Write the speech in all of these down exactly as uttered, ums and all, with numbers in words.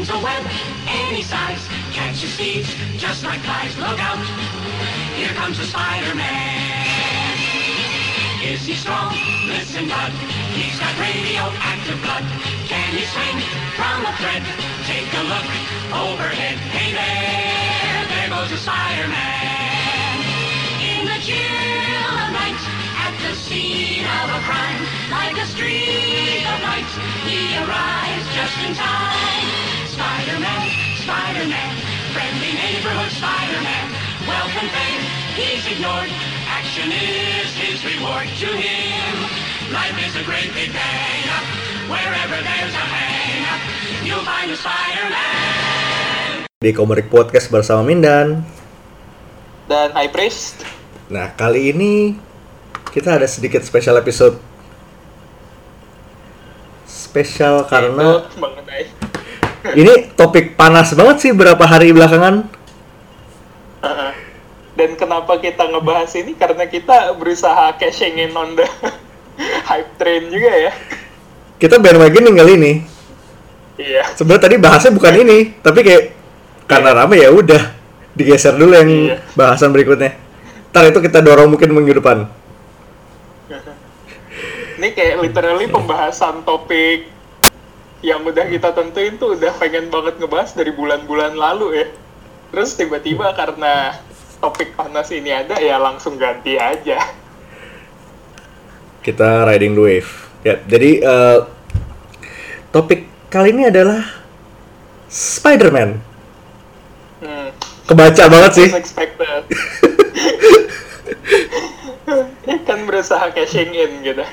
spins a web any size, catches thieves just like flies. Look out, here comes the Spider-Man. Is he strong? Listen, bud, he's got radioactive blood. Can he swing from a thread? Take a look overhead. Hey there, there goes the Spider-Man. In the chill of night, at the scene of a crime, like a streak of light, he arrives just in time. Spider-Man, Spider-Man, friendly neighborhood Spider-Man. Wealth and fame, he's ignored. Action is his reward to him. Life is a great big bang. Wherever there's a hang, you'll find a Spider-Man. Di Komerik Podcast bersama Mindan dan High Priest. Nah, kali ini kita ada sedikit special episode. Spesial karena mengenai ini topik panas banget sih beberapa hari belakangan. uh-uh. Dan kenapa kita ngebahas ini? Karena kita berusaha cashing in on the hype train juga ya. Kita bandwagon kali ini. Iya. Sebenarnya tadi bahasnya bukan ini, tapi kayak karena rame ya udah digeser dulu yang Iya. bahasan berikutnya. Ntar itu kita dorong mungkin minggu depan. Ini kayak literally pembahasan topik yang udah kita tentuin tuh udah pengen banget ngebahas dari bulan-bulan lalu ya. Terus tiba-tiba karena topik panas ini ada ya langsung ganti aja. Kita riding the wave. Ya, jadi uh, topik kali ini adalah Spider-Man. Hmm. Kebaca banget sih. Unexpected. Kan berusaha cashing in gitu.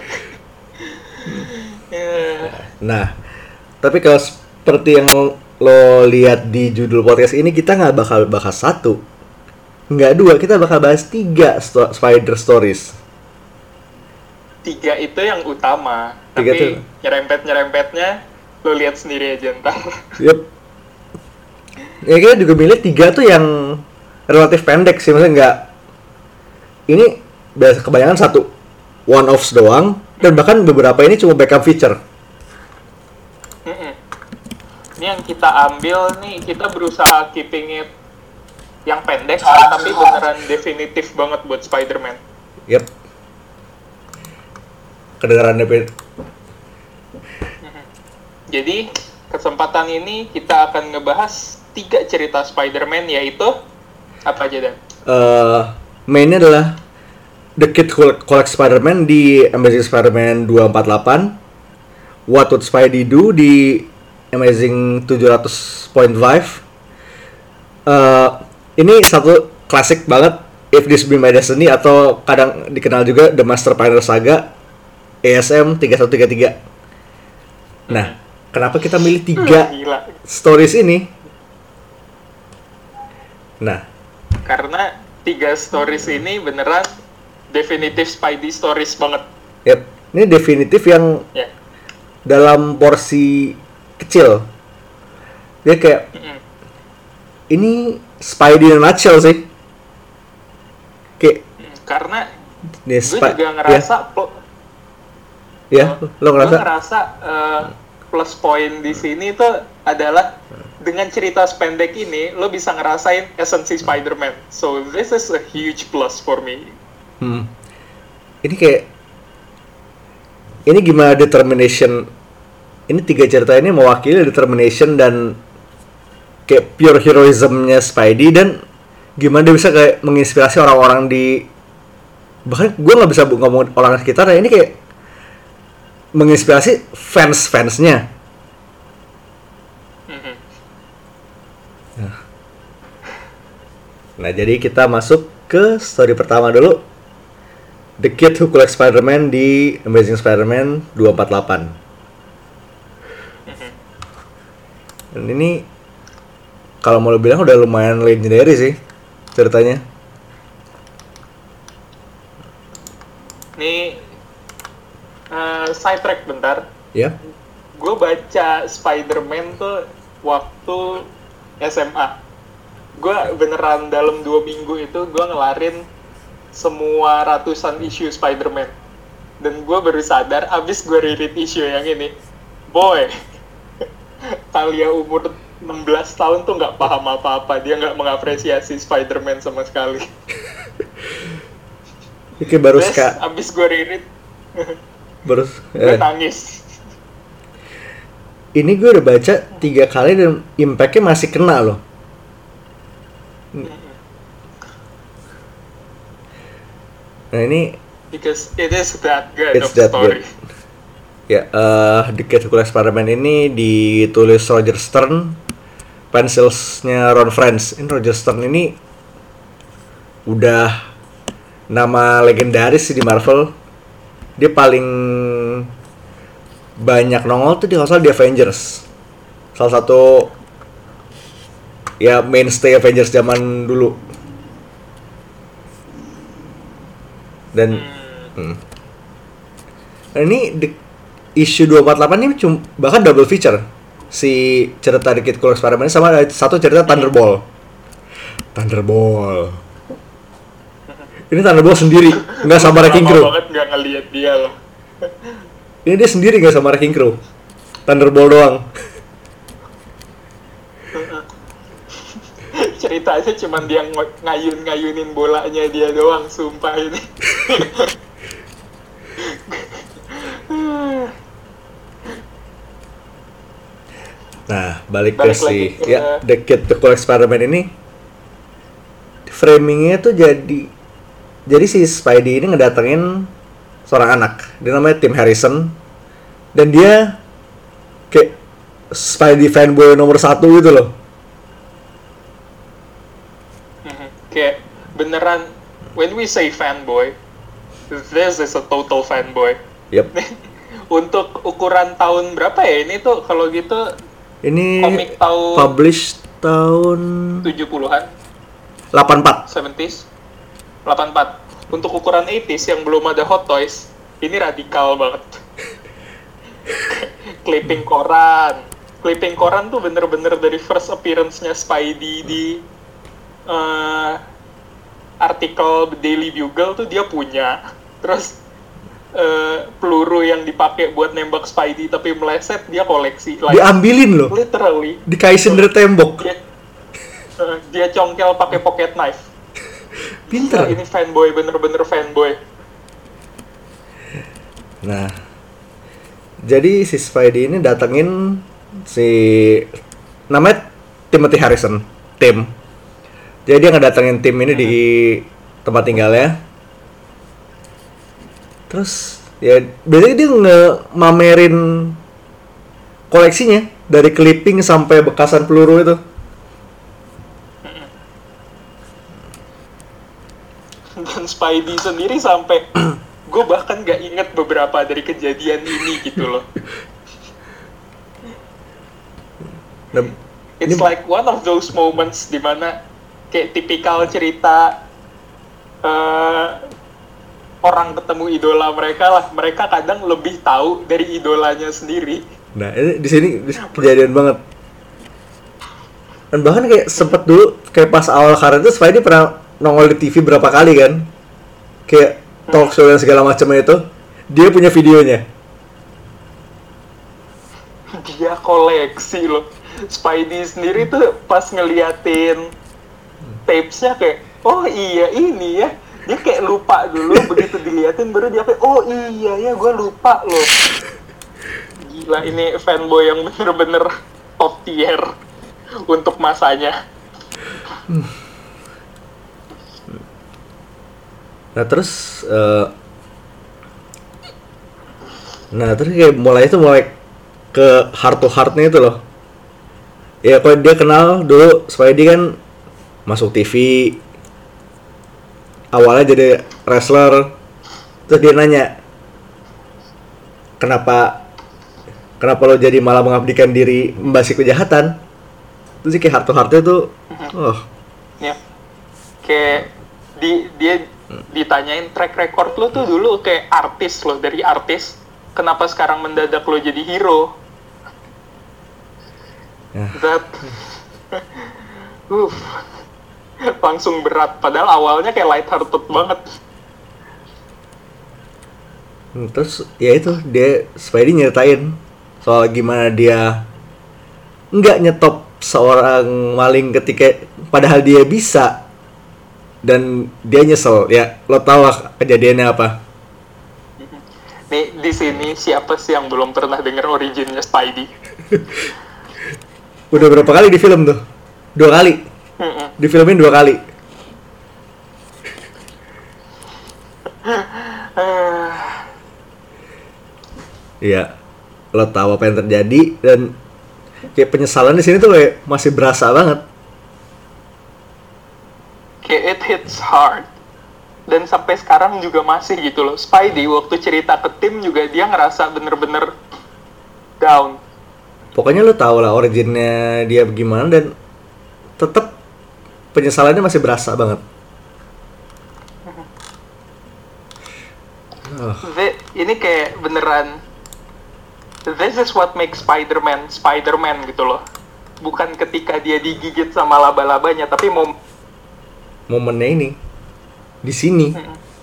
Ya. Nah, tapi kalau seperti yang lo lihat di judul podcast ini, kita nggak bakal bahas satu, nggak dua, kita bakal bahas tiga sto- Spider Stories. Tiga itu yang utama, Tiga tapi tuh. nyerempet-nyerempetnya lo lihat sendiri aja ntar. Yup. Ya kita juga milih tiga tuh yang relatif pendek sih, maksudnya nggak. Ini biasa kebanyakan satu one offs doang, dan bahkan beberapa ini cuma backup feature. Mm-mm. Ini yang kita ambil nih, kita berusaha keeping it yang pendek, tapi beneran definitif banget buat Spider-Man. Yep. Kedengaran D P. Jadi, kesempatan ini kita akan ngebahas tiga cerita Spider-Man, yaitu apa aja, Dan? Uh, mainnya adalah The Kid Who Collects Spider-Man di Amazing Spider-Man dua empat delapan, What Would Spidey Do di Amazing tujuh ratus point lima. Uh, ini satu klasik banget, If This Be My Destiny, atau kadang dikenal juga The Master Spider Saga A S M tiga satu tiga tiga. Nah, kenapa kita milih tiga Gila. stories ini? Nah, Karena tiga stories ini beneran definitif Spidey stories banget. yep, ini definitif yang Ya. dalam porsi kecil. Dia kayak Mm-mm. ini Spidey in a nutshell sih. Kayak Karena nih gue Spi- juga ngerasa pl- ya, ya lo gue ngerasa ngerasa uh, plus point di sini tuh adalah dengan cerita sependek ini lo bisa ngerasain esensi Spider-Man. So this is a huge plus for me. hmm, ini kayak ini gimana determination, ini tiga cerita ini mewakili determination dan kayak pure heroism-nya Spidey, dan gimana dia bisa kayak menginspirasi orang-orang di, bahkan gue nggak bisa ngomong orang sekitar ya, ini kayak menginspirasi fans-fansnya. Mhm. Nah, jadi kita masuk ke story pertama dulu, The Kid Who Collects Spider-Man di Amazing Spider-Man dua empat delapan. Dan ini kalau mau lo bilang udah lumayan legendary sih ceritanya. Ini uh, side track bentar. Ya. Gue baca Spider-Man tuh waktu S M A. Gue beneran dalam dua minggu itu gue ngelarin semua ratusan isu Spider-Man. Dan gue baru sadar abis gue reread isu yang ini, boy, Talia umur enam belas tahun tuh nggak paham apa-apa, dia nggak mengapresiasi Spider-Man sama sekali. Oke, baru Terus ska abis gue reread, baru gue eh, nangis. ini gue udah baca tiga kali dan impact-nya masih kena loh. Nah ini Because it is that good It's of that story. ya, eh The Kid Who Collects Spider-Man ini ditulis Roger Stern, pencilsnya Ron Frenz. Ini Roger Stern ini udah nama legendaris sih di Marvel. Dia paling banyak nongol tuh di kalau di Avengers. Salah satu ya mainstay Avengers zaman dulu. Dan hmm. Nah, ini di issue dua empat delapan ini cuma bahkan double feature si cerita The Kid Who Collects Spider-Man sama satu cerita Thunderball. Thunderball. Ini Thunderball sendiri, nggak sama Wrecking Crew. Lama banget nggak ngeliat dia loh. Ini dia sendiri nggak sama Wrecking Crew. Thunderball doang. Ceritanya cuma dia ng- ngayun-ngayunin bolanya dia doang, sumpah ini. Nah, balik, Balik ke si lagi ke- ya The Kid Who Collects Spider-Man ini framingnya tuh jadi jadi si Spidey ini ngedatengin seorang anak, dia namanya Tim Harrison, dan dia kayak Spidey fanboy nomor satu gitu loh. Mhm. Kayak beneran, when we say fanboy, this is a total fanboy. Yep. Untuk ukuran tahun berapa ya ini tuh kalau gitu Ini komik tahun publish tahun tujuh puluhan, delapan puluh empat. tujuh puluhan, delapan puluh empat. Untuk ukuran delapan puluh yang belum ada Hot Toys, ini radikal banget. Clipping koran. Clipping koran tuh bener-bener dari first appearance-nya Spidey di uh, artikel The Daily Bugle tuh dia punya. Terus uh, peluru yang dipakai buat nembak Spidey tapi meleset dia koleksi. Like, Diambilin loh, literally. dikaisin dari tembok. Dia, uh, dia congkel pakai pocket knife. Pinter. Gila, ini fanboy, bener-bener fanboy. Nah, jadi si Spidey ini datengin si namanya Timothy Harrison, Tim. Jadi dia ngedatengin Tim ini di tempat tinggalnya. Terus ya biasanya dia nge-mamerin koleksinya dari clipping sampai bekasan peluru itu. Dan Spidey sendiri sampai gue bahkan gak inget beberapa dari kejadian ini gitu loh. Nah, It's ini- like one of those moments dimana kayak tipikal cerita uh, orang ketemu idola mereka lah. Mereka kadang lebih tahu dari idolanya sendiri. Nah, ini di sini kejadian banget. Dan bahkan kayak sempet dulu kayak pas awal karir itu Spidey pernah nongol di T V berapa kali kan? Kayak talk show dan segala macamnya itu. Dia punya videonya. Dia koleksi loh. Spidey sendiri tuh pas ngeliatin tapes-nya kayak, oh iya ini ya. Dia kayak lupa dulu, begitu diliatin baru dia kayak, oh iya ya gue lupa loh. Gila, ini fanboy yang bener-bener top tier untuk masanya. Nah terus uh, Nah terus kayak mulai itu mulai ke heart to heartnya itu loh. Ya kalau dia kenal dulu Spidey kan masuk T V, awalnya jadi wrestler. Terus dia nanya, Kenapa Kenapa lo jadi malah mengabdikan diri membahas kejahatan? Terus kayak heart to heartnya tuh oh. Ya, kayak di, dia ditanyain track record lo tuh dulu kayak artis lo, dari artis kenapa sekarang mendadak lo jadi hero? Ya. That uh, langsung berat, padahal awalnya kayak light hearted banget. Hmm, Terus ya itu dia Spidey nyeritain soal gimana dia nggak nyetop seorang maling ketika padahal dia bisa, dan dia nyesel. Ya lo tau lah kejadiannya apa. Nih di sini siapa sih yang belum pernah denger originnya Spidey? Udah berapa kali di film tuh? Dua kali. Mm-mm. Di filmin dua kali. Iya, lo tahu apa yang terjadi, dan kayak penyesalan di sini tuh kayak masih berasa banget. Kayak it hits hard. Dan sampai sekarang juga masih gitu loh. Spidey waktu cerita ke tim juga dia ngerasa bener-bener down. Pokoknya lo tau lah originnya dia gimana, dan tetap penyesalannya masih berasa banget. Oh. The- ini kayak beneran, this is what makes Spider-Man Spider-Man gitu loh. Bukan ketika dia digigit sama laba-labanya, tapi mau Momennya ini di sini.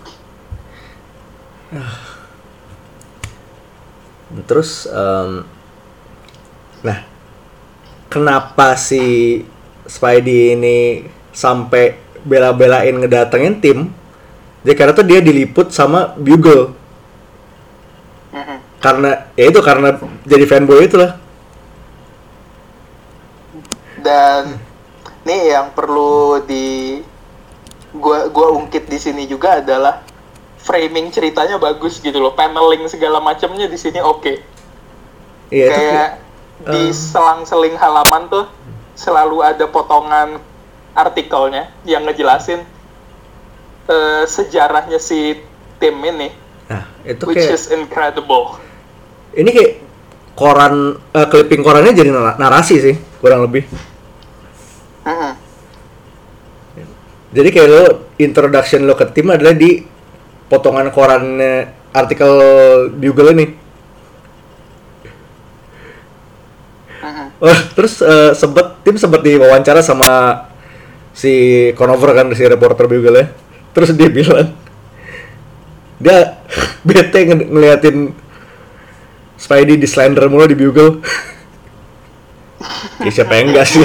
Ah. Terus, em, nah, kenapa si Spidey ini sampai bela-belain ngedatengin tim? Jadi karena tuh dia diliput sama Bugle. Karena ya itu karena jadi fanboy itulah. Dan nih yang perlu di gua gua ungkit di sini juga adalah framing ceritanya bagus gitu loh, paneling segala macamnya di sini oke. Iya itu Kayak kayak, di eh, selang-seling halaman tuh selalu ada potongan artikelnya yang ngejelasin eh, sejarahnya si tim ini, nah itu which kayak is incredible. ini kayak koran, eh, clipping korannya jadi nar- narasi sih kurang lebih. Mhm. Jadi kayak lo introduction lo ke tim adalah di potongan korannya artikel Bugle ini. Mhm. Oh, terus eh, sempet tim sempet diwawancara sama si Conover kan, si reporter Bugle ya. Terus dia bilang dia bete nge- ngeliatin Spidey di slender mulu di Bugle. Ya siapa yang enggak sih?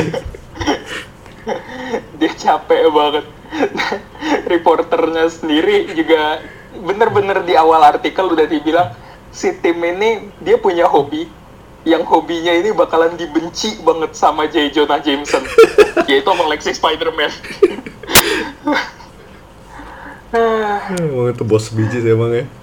Dia capek banget. Reporternya sendiri juga bener-bener di awal artikel udah dibilang si tim ini dia punya hobi yang hobinya ini bakalan dibenci banget sama J. Jonah Jameson, yaitu mengoleksi Spider-Man. Emang itu bos biji sih emang ya.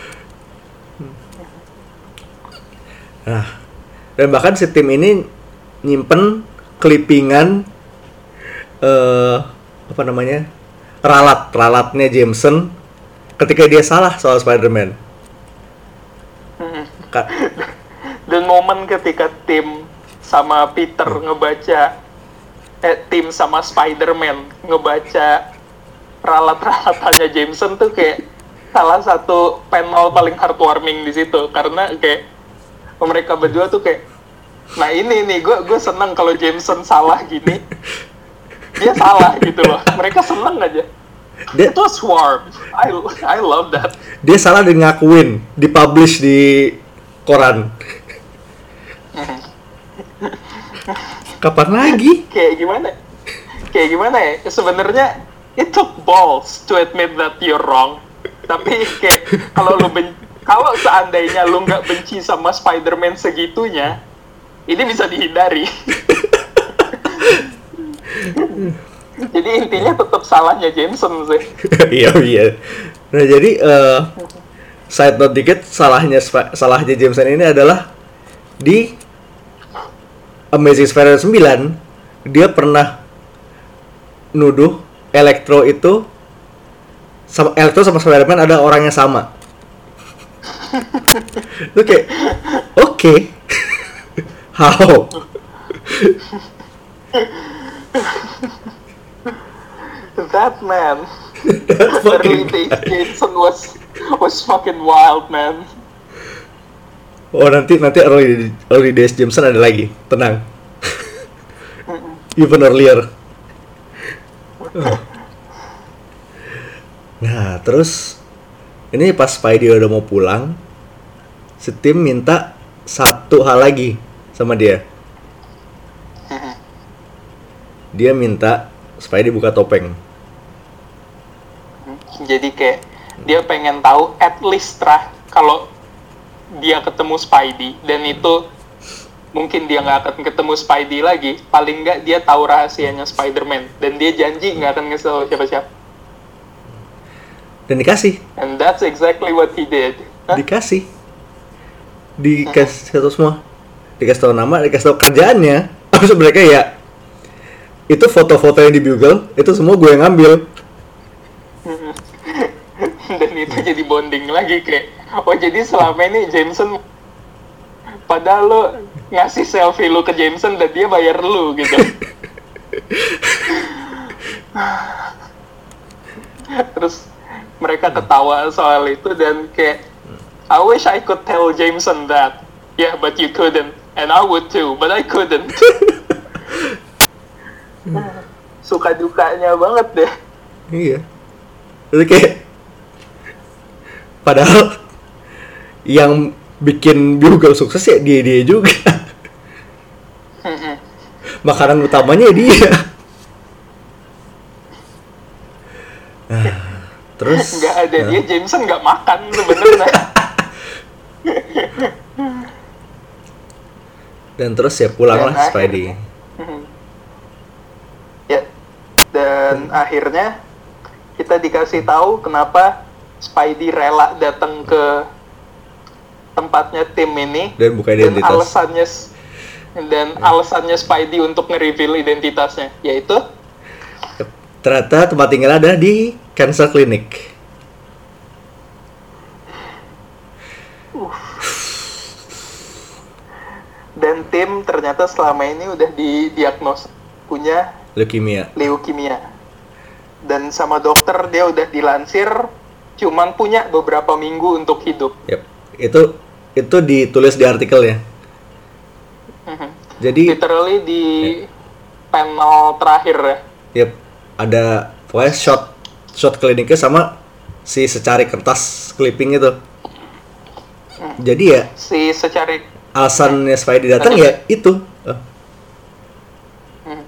Nah, dan bahkan si tim ini nyimpen clippingan eh apa namanya, ralat ralatnya Jameson ketika dia salah soal Spider-Man. Ka- Dan momen ketika tim sama Peter ngebaca, eh tim sama Spider-Man ngebaca ralat-ralatannya Jameson tuh kayak salah satu panel paling heartwarming di situ, karena kayak mereka berdua tuh kayak, nah ini nih gue gue seneng kalau Jameson salah gini, dia salah gitu loh, mereka seneng aja. Dia- It was warm. I I love that. dia salah dan ngakuin, dipublish di koran. Kapan lagi? Kayak gimana? Kayak gimana ya? Sebenarnya it took balls to admit that you're wrong. Tapi kayak kalau lu ben- kalau seandainya lu nggak benci sama Spider-Man segitunya, ini bisa dihindari. Jadi intinya tetap salahnya Jameson sih. Iya iya. Nah jadi eh side note dikit, salahnya Sp- salahnya Jameson ini adalah di Amazing Spider-Man sembilan dia pernah nuduh Electro itu sama Electro sama Spider-Man ada orang yang sama. Itu kayak oke. Okay. How? That man, That's early fucking days guy. Jameson was was fucking wild, man. Oh nanti nanti early early days Jameson ada lagi, tenang. Even earlier. Oh. Nah terus ini pas Spidey udah mau pulang, si tim minta satu hal lagi sama dia. dia minta Spidey buka topeng. Jadi kayak dia pengen tahu at least lah kalau dia ketemu Spidey dan itu mungkin dia nggak akan ketemu Spidey lagi, paling nggak dia tahu rahasianya Spider-Man dan dia janji nggak akan ngasih tahu siapa-siapa. Dan dikasih. And that's exactly what he did. Hah? Dikasih. Dikasih tahu semua. Dikasih tahu nama, dikasih tahu kerjaannya. Maksud mereka ya itu foto-foto yang di Bugle itu semua gue yang ngambil. Dan itu jadi bonding lagi kayak, oh jadi selama ini Jameson padahal lo ngasih selfie lu ke Jameson dan dia bayar lu gitu. Terus mereka ketawa soal itu dan kayak, I wish I could tell Jameson that. Yeah, but you couldn't. And I would too, but I couldn't. Suka dukanya banget deh. Iya. Jadi kayak padahal yang bikin Bugle sukses ya dia-dia juga. Makanan utamanya dia. Nah, terus nggak ada nah. dia Jameson nggak makan sebenarnya. Dan terus ya pulanglah Dan Spidey. Akhir, ya, dan akhirnya kita dikasih tahu kenapa Spidey rela datang ke tempatnya tim ini Dan buka dan identitas. alasannya dan alasannya Spidey untuk nge-reveal identitasnya yaitu Ternyata tempat tinggal ada di Cancer Clinic. dan tim ternyata selama ini udah didiagnos punya Leukemia. leukemia dan sama dokter dia udah dilansir cuman punya beberapa minggu untuk hidup. Yep. Itu itu ditulis di artikelnya. Mhm. Jadi Literally di ya. panel terakhir ya. Yep, ada pokoknya shot shot kliniknya sama si secari kertas clipping itu. Hmm. Jadi ya Si secari alasannya Spidey datang ya itu. Oh, hmm.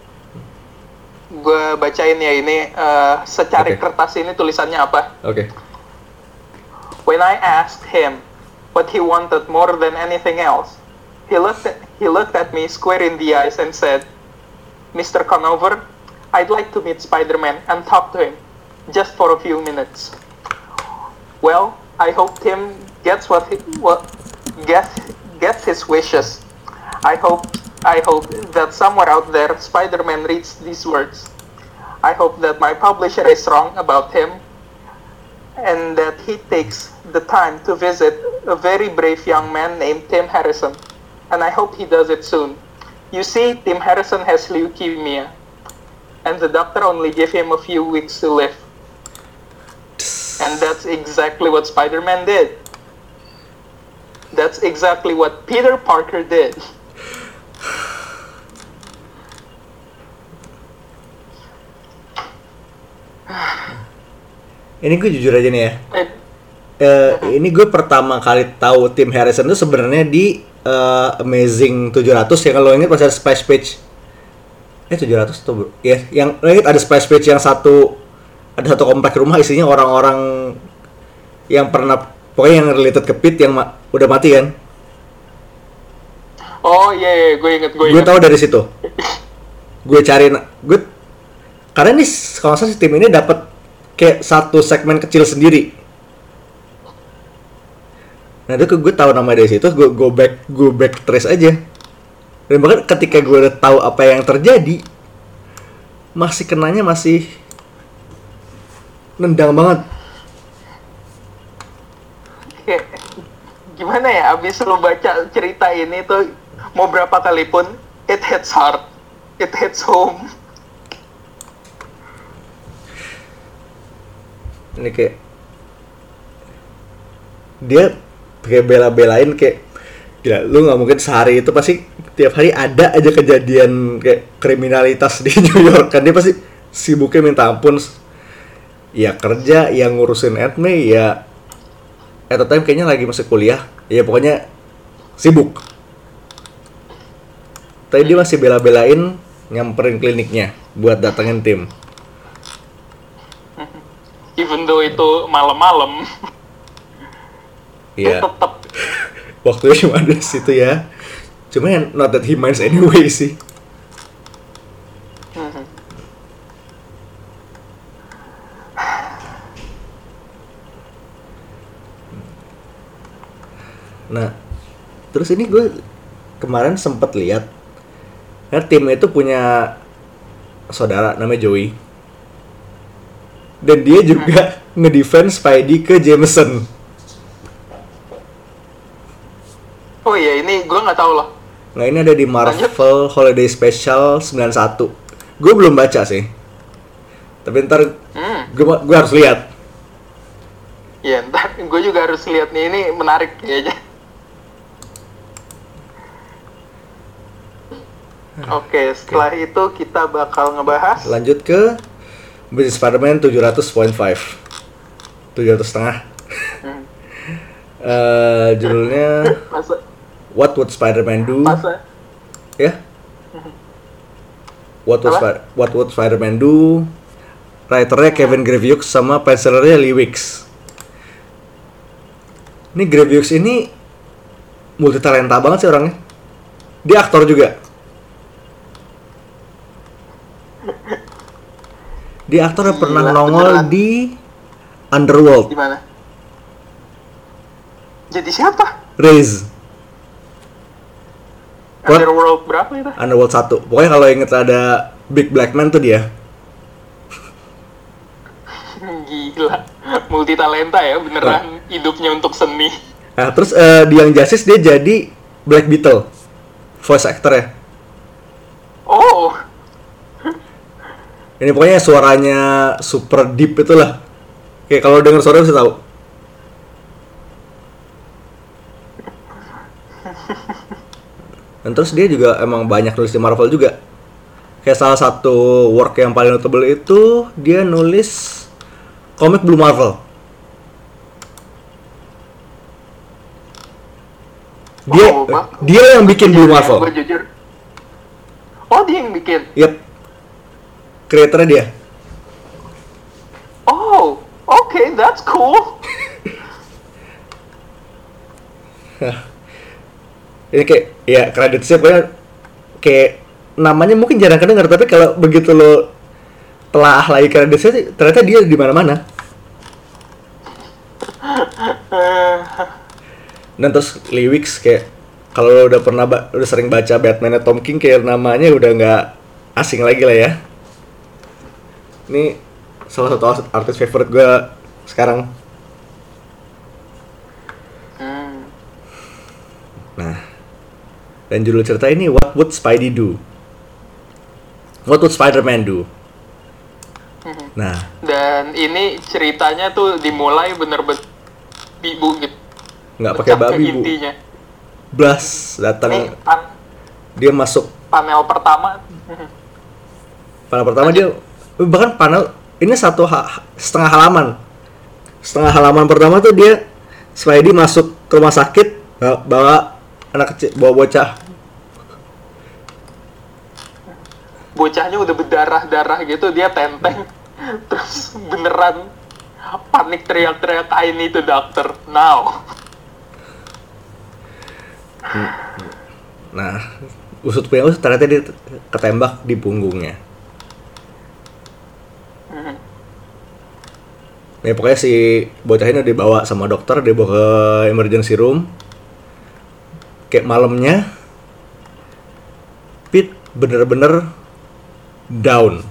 Gue bacain ya ini uh, secari Oke. kertas ini tulisannya apa? Oke. When I asked him what he wanted more than anything else, he looked at, he looked at me square in the eyes and said, Mister Conover, I'd like to meet Spider-Man and talk to him, just for a few minutes. Well, I hope Tim gets what he what gets gets his wishes. I hope I hope that somewhere out there Spider-Man reads these words. I hope that my publisher is wrong about him and that he takes the time to visit a very brave young man named Tim Harrison. And I hope he does it soon. You see, Tim Harrison has leukemia, and the doctor only gave him a few weeks to live. And that's exactly what Spider-Man did. That's exactly what Peter Parker did. Ini gue jujur aja nih ya. Eh, Eh, ini gue pertama kali tahu Tim Harrison itu sebenarnya di eh, Amazing tujuh ratus ya, kalau ingat pas ada splash page. Eh tujuh ratus tuh bro. Ya, yang lo ingat ada splash page yang satu ada satu komplek rumah isinya orang-orang yang pernah pokoknya yang related ke Pete yang ma- udah mati kan. Oh iya, iya, gue inget, gue Gue inget. tahu dari situ. Gue cari gue karena ini kalau nggak salah si tim ini dapat kayak satu segmen kecil sendiri. Nah itu gue tahu nama dari situ, gue go back go back trace aja. Dan bahkan ketika gue udah tahu apa yang terjadi, masih kenanya masih nendang banget. Kayak, gimana ya, abis lu baca cerita ini tuh mau berapa kali pun it hits hard, it hits home. Ini kayak dia kayak bela-belain kayak gila, lu nggak mungkin sehari itu pasti tiap hari ada aja kejadian kayak kriminalitas di New York kan, dia pasti sibuknya minta ampun ya, kerja yang ngurusin admin ya, at the time kayaknya lagi masih kuliah ya, pokoknya sibuk. Tapi dia masih bela-belain nyamperin kliniknya buat datengin tim. Even though itu malam-malam, Iya. dia tetap. Waktunya cuma ada di situ ya. Cuma yang not that he minds anyway sih. Nah, terus ini gue kemarin sempet lihat, ya tim itu punya saudara namanya Joey, dan dia juga ngedefense Spidey ke Jameson. Oh iya, ini gue nggak tahu loh. Nah ini ada di Marvel Holiday Special sembilan puluh satu. Gue belum baca sih, tapi ntar Hmm. gue gue harus lihat. Ya, ntar gue juga harus lihat nih, ini menarik kayaknya. Oke, setelah itu kita bakal ngebahas Lanjut ke Amazing Spider-Man tujuh ratus koma lima, tujuh ratus setengah. Hmm. Eh, judulnya masa What Would Spider-Man Do? masa Ya. What Would, Apa? Spi- What Would Spider-Man Do? Writernya Kevin Graviux sama pencilernya Lee Wicks. Ini Graviux ini multi talenta banget sih orangnya. Dia aktor juga. Dia aktor yang pernah Gila, nongol beneran. di Underworld, di mana? Jadi siapa? Raze, What? Underworld berapa itu? Underworld satu. Pokoknya kalau inget ada Big Black Man tuh dia. Gila, multi talenta ya, beneran hidupnya untuk seni. Nah, terus eh, di yang Justice dia jadi Black Beetle, voice actor ya. Oh, Ini pokoknya suaranya super deep itulah. Kayak kalau denger suara bisa tahu. Dan terus dia juga emang banyak nulis di Marvel juga. Kayak salah satu work yang paling notable itu dia nulis komik Blue Marvel. Dia Oh, Bang. dia yang bikin Blue Marvel. gue jujur. Oh, dia yang bikin. Yep. Kreatornya dia. Oh, okay, that's cool. Ini kayak ya kreditnya pokoknya kayak namanya mungkin jarang kedengar, tapi kalau begitu lo telah lagi kreditnya sih, ternyata dia di mana-mana. Dan terus Lee Wicks kayak kalau lo udah pernah ba- udah sering baca Batman-nya Tom King, kayak namanya udah nggak asing lagi lah ya. Ini salah satu artis favorite gue sekarang. Hmm. Nah, dan judul cerita ini What Would Spidey Do? What Would Spider-Man Do? Nah, Dan ini ceritanya tuh dimulai bener-bener ibu gitu. nggak pakai Pecah ke babi bu. intinya. Blas Ini datang, pan- dia masuk panel pertama. panel pertama dia bahkan panel ini satu ha- setengah halaman. Setengah halaman pertama tuh dia Spidey masuk ke rumah sakit bawa, bawa anak kecil, bawa bocah. Bocahnya udah berdarah-darah gitu, dia tenteng. Terus beneran panik teriak-teriak, I need a doctor now. Nah, usut punya usut ternyata dia ketembak di punggungnya. Ya pokoknya si bocah ini dibawa sama dokter, dibawa ke emergency room. Kayak malamnya Pete bener-bener down.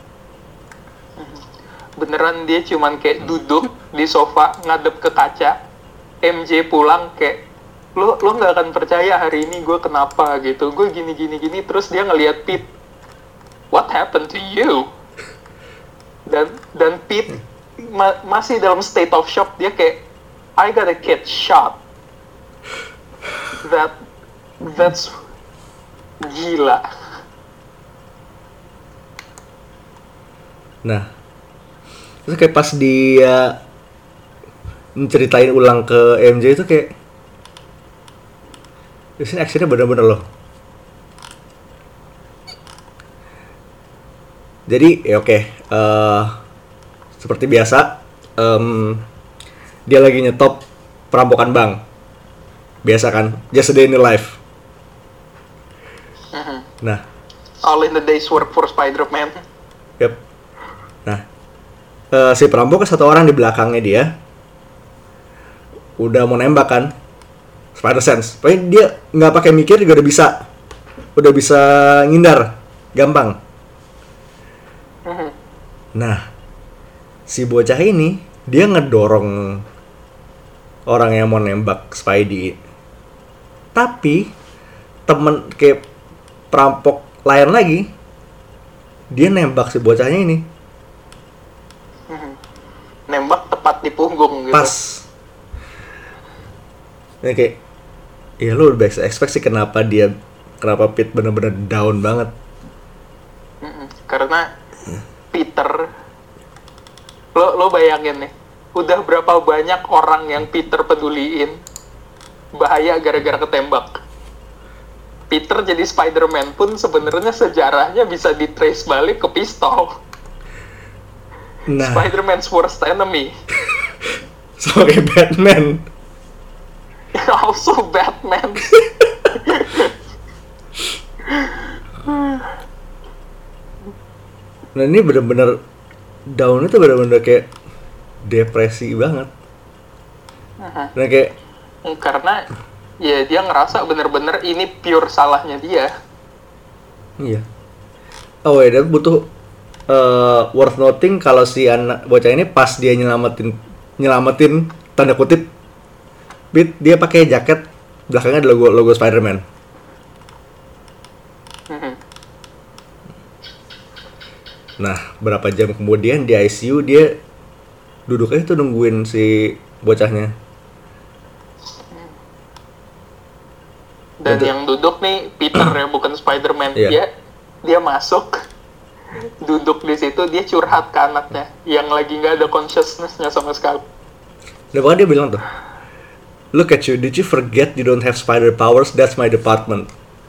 Beneran dia cuman kayak duduk di sofa ngadep ke kaca. M J pulang kayak, lo lo nggak akan percaya hari ini gue kenapa gitu, gue gini gini gini. Terus dia ngelihat Pete, what happened to you? Dan dan Pete ma- masih dalam state of shock. Dia kayak, I got a kid shot. That that's gila. Nah, terus kayak pas dia menceritain ulang ke M J itu kayak di sini actionnya bener-bener loh. Jadi ya oke, eh, seperti biasa, em, dia lagi nyetop perampokan bank. Biasa kan, just a day in the life. Mhm. Nah, All in the day's work for Spider-Man. yep. Nah, eh, si perampok satu orang di belakangnya dia udah mau nembak kan, Spider Sense. Pokoknya dia nggak pakai mikir juga udah bisa, udah bisa ngindar, gampang. Mhm. Nah, si bocah ini dia ngedorong orang yang mau nembak Spidey. Tapi temen kayak perampok lain lagi, dia nembak si bocahnya ini Mhm. Nembak tepat di punggung gitu. pas. Ini kayak, ya lu udah bisa expect sih kenapa dia, kenapa Pete bener-bener down banget. Mhm. Karena Peter, lo lo bayangin nih, udah berapa banyak orang yang Peter peduliin bahaya gara-gara ketembak. Peter jadi Spider-Man pun sebenarnya sejarahnya bisa di-trace balik ke pistol. Nah, Spider-Man's worst enemy. sebagai Batman. Also Batman. Nah ini bener-bener down itu bener-bener kayak depresi banget. Nah kayak Karena ya dia ngerasa bener-bener ini pure salahnya dia. iya. Oh ya, dan butuh uh, worth noting kalau si anak bocah ini pas dia nyelamatin nyelamatin tanda kutip Pete, dia pakai jaket belakangnya ada logo logo Spider-Man. Mhm. Nah, berapa jam kemudian di I C U dia duduknya itu nungguin si bocahnya. Dan Untuk- yang duduk nih Peter ya, bukan Spider-Man. Iya. Dia dia masuk, duduk di situ, dia curhat ke anaknya yang lagi nggak ada consciousness-nya sama sekali. Dan bahkan dia bilang tuh, "Look at you, did you forget you don't have spider powers? That's my department."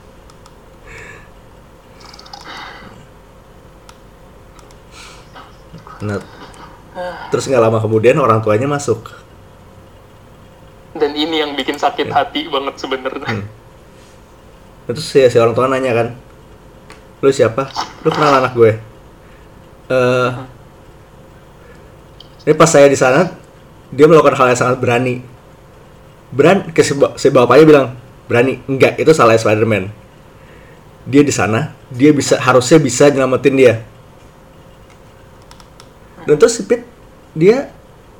Nah, terus nggak lama kemudian orang tuanya masuk. Dan ini yang bikin sakit hati banget sebenarnya. Hmm. Terus si, si orang tua nanya kan, "Lu siapa? Lu kenal anak gue?" Eh, ini pas saya di sana, dia melakukan hal yang sangat berani. Berani, ke si, ba- si bapaknya bilang, "Berani." Enggak, itu salah Spider-Man. Dia di sana, dia bisa harusnya bisa nyelamatin dia. Dan terus si Pete, dia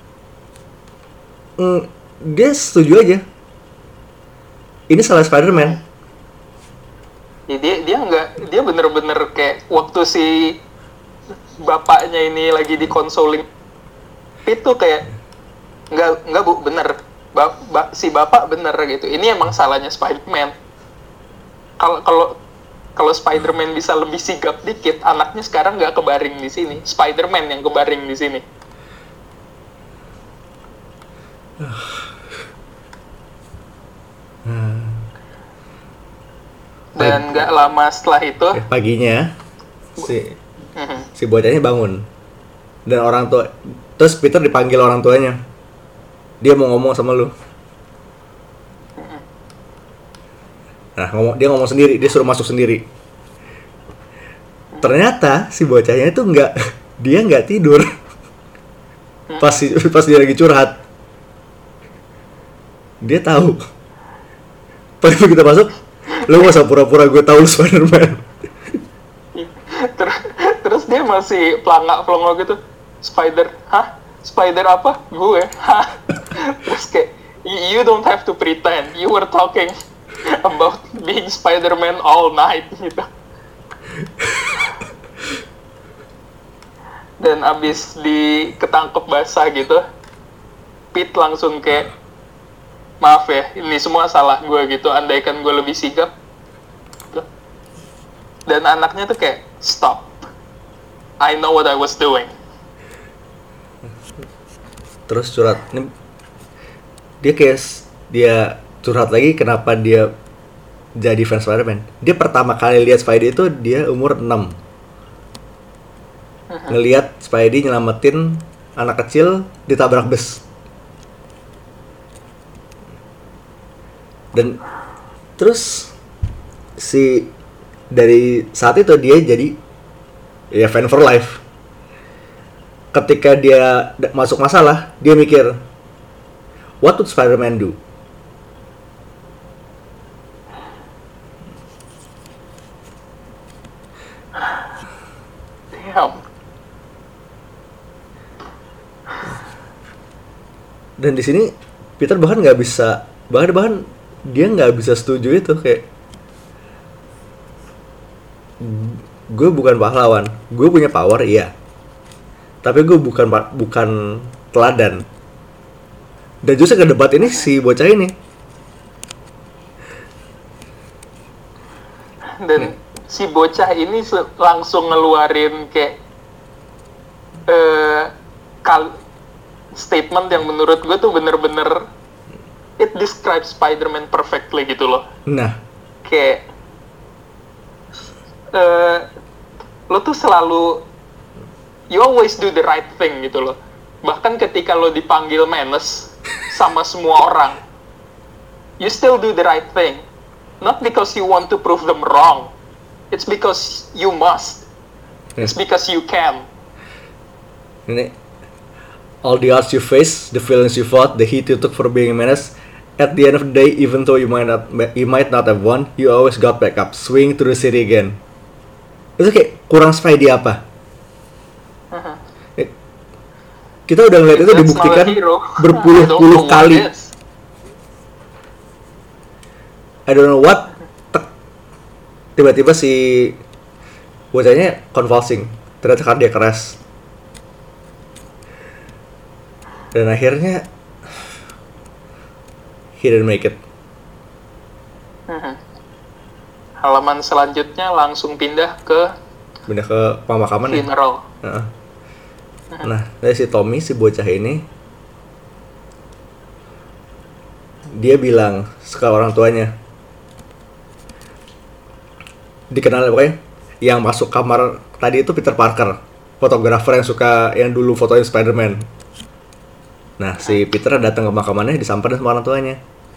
mm, dia setuju aja. Ini salah Spider-Man. Ya, dia dia nggak dia bener-bener kayak waktu si bapaknya ini lagi di consoling Pete tuh kayak nggak nggak bu bener ba, ba- si bapak bener gitu, ini emang salahnya Spider-Man. Kalau kalau kalau Spider-Man bisa lebih sigap dikit, anaknya sekarang nggak kebaring di sini, Spider-Man yang kebaring di sini. Dan nggak lama setelah itu, Eh, paginya si mhm, si bocahnya bangun dan orang tua, terus Peter dipanggil orang tuanya, dia mau ngomong sama lu. Nah, ngomong, dia ngomong sendiri, dia suruh masuk sendiri. Ternyata si bocahnya itu nggak, dia nggak tidur pas si- pas dia lagi curhat. Dia tahu. Pas kita masuk, lu gak usah pura-pura gue tahu lu Spider-Man. Ter- terus dia masih pelangak pelongo gitu, Spider, hah? Spider apa? Gue, hah? Terus kayak, "Y- you don't have to pretend, you were talking about being Spider-Man all night gitu." Dan abis diketangkep basah gitu, Pete langsung kayak, "Maaf ya, ini semua salah gue gitu, andaikan gue lebih sigap." Dan anaknya tuh kayak, "Stop, I know what I was doing." Terus curhat, ini dia kayak s- dia curhat lagi kenapa dia jadi fans Spider-Man. Dia pertama kali lihat Spidey itu dia umur enam. ngelihat Spidey nyelamatin anak kecil ditabrak bus. Dan terus si dari saat itu dia jadi ya fan for life. Ketika dia d- masuk masalah, dia mikir, what would Spider-Man do? Damn. Dan di sini Peter bahkan nggak bisa, bahkan bahkan dia nggak bisa setuju itu, kayak gue bukan pahlawan, gue punya power iya, tapi gue bukan pa- bukan teladan. Dan justru ke debat ini si bocah ini Dan si bocah ini se- langsung ngeluarin kayak eh kal- statement yang menurut gue tuh bener-bener it describes Spider-Man perfectly gitu loh. nah Kayak eh lo tuh selalu you always do the right thing gitu loh. Bahkan ketika lo dipanggil menace sama semua orang, you still do the right thing. Not because you want to prove them wrong. It's because you must. It's because you can. ini all the odds you face, the feelings you fought, the heat you took for being a menace. At the end of the day, even though you might not you might not have won, you always got back up, swing through the city again. Itu kayak kurang Spidey apa? Eh, Kita udah ngeliat itu That's dibuktikan not a hero. I don't berpuluh-puluh know what kali. it is. I don't know what. Tek. Tiba-tiba si bocahnya convulsing, ternyata cardiac arrest. Dan akhirnya he didn't make it. Mhm. Halaman selanjutnya langsung pindah ke Pindah ke pemakaman ya. funeral. Heeh. Nah, dari si Tommy, si bocah ini, dia bilang ke orang tuanya, dikenal pokoknya, yang masuk kamar tadi itu Peter Parker, fotografer yang suka, yang dulu fotoin Spider-Man. Nah, si Peter datang ke makamannya, disamperin sama orang tuanya.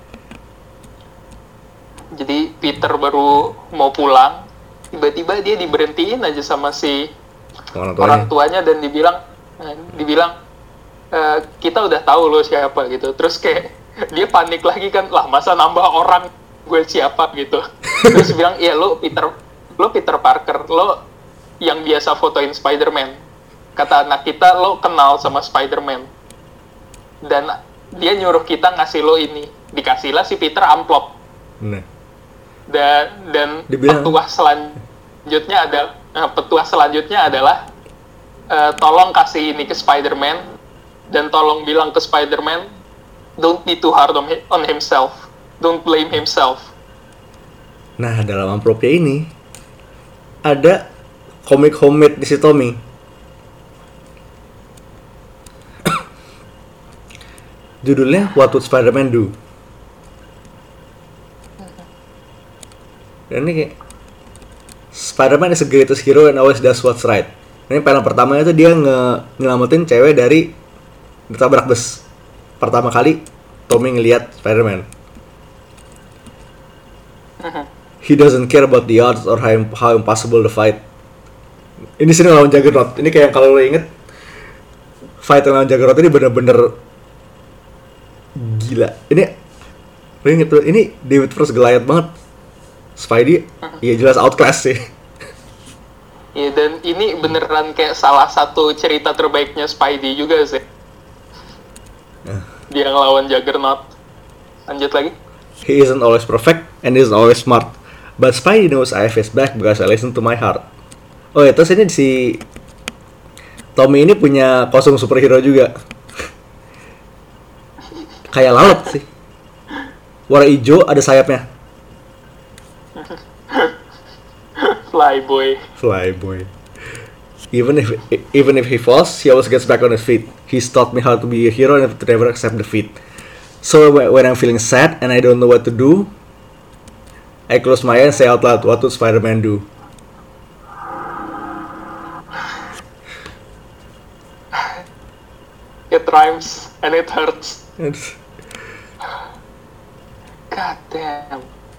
Jadi Peter baru mau pulang, tiba-tiba dia diberhentiin aja sama si Sama orang tuanya. orang tuanya dan dibilang, eh, dibilang "E, kita udah tahu lo siapa gitu. Terus kayak dia panik lagi kan, lah masa nambah orang gue siapa gitu. Terus bilang, iya lo Peter, lo Peter Parker, lo yang biasa fotoin Spider-Man. Kata anak kita lo kenal sama Spider-Man. Dan dia nyuruh kita ngasih lo ini. Dikasihlah si Peter amplop. Nah, Dan dan Dibilang. petuah selanjutnya ada nah, petuah selanjutnya adalah eh, tolong kasih ini ke Spider-Man dan tolong bilang ke Spider-Man don't be too hard on, hi- on himself, don't blame himself. nah dalam amplopnya ini ada komik homemade di si Tommy. Judulnya What Would Spider-Man Do? Dan ini kayak Spider-Man is the greatest hero and always does what's right. Ini panel pertamanya tuh dia nge nyelamatin cewek dari ditabrak bus. Pertama kali Tommy ngelihat Spider-Man. He doesn't care about the odds or how, how impossible the fight. Ini sini lawan Juggernaut. Ini kayak kalau lo inget fight lawan Juggernaut ini bener-bener gila. Ini lo inget tuh, ini David versus Goliath banget. Spidey, ya jelas outclass sih. Ya dan ini beneran kayak salah satu cerita terbaiknya Spidey juga sih. Dia ngelawan Juggernaut. Lanjut lagi. He isn't always perfect and isn't always smart, but Spidey knows I have his back because I listen to my heart. Oh ya, terus ini si Tommy ini punya kostum superhero juga. Kayak lalat sih. Warna hijau, ada sayapnya. Flyboy. Flyboy. Even if even if he falls, he always gets back on his feet. He's taught me how to be a hero and to never accept defeat. So when I'm feeling sad and I don't know what to do, I close my eyes and say out loud, what would Spider-Man do? rhymes and it hurts. God damn.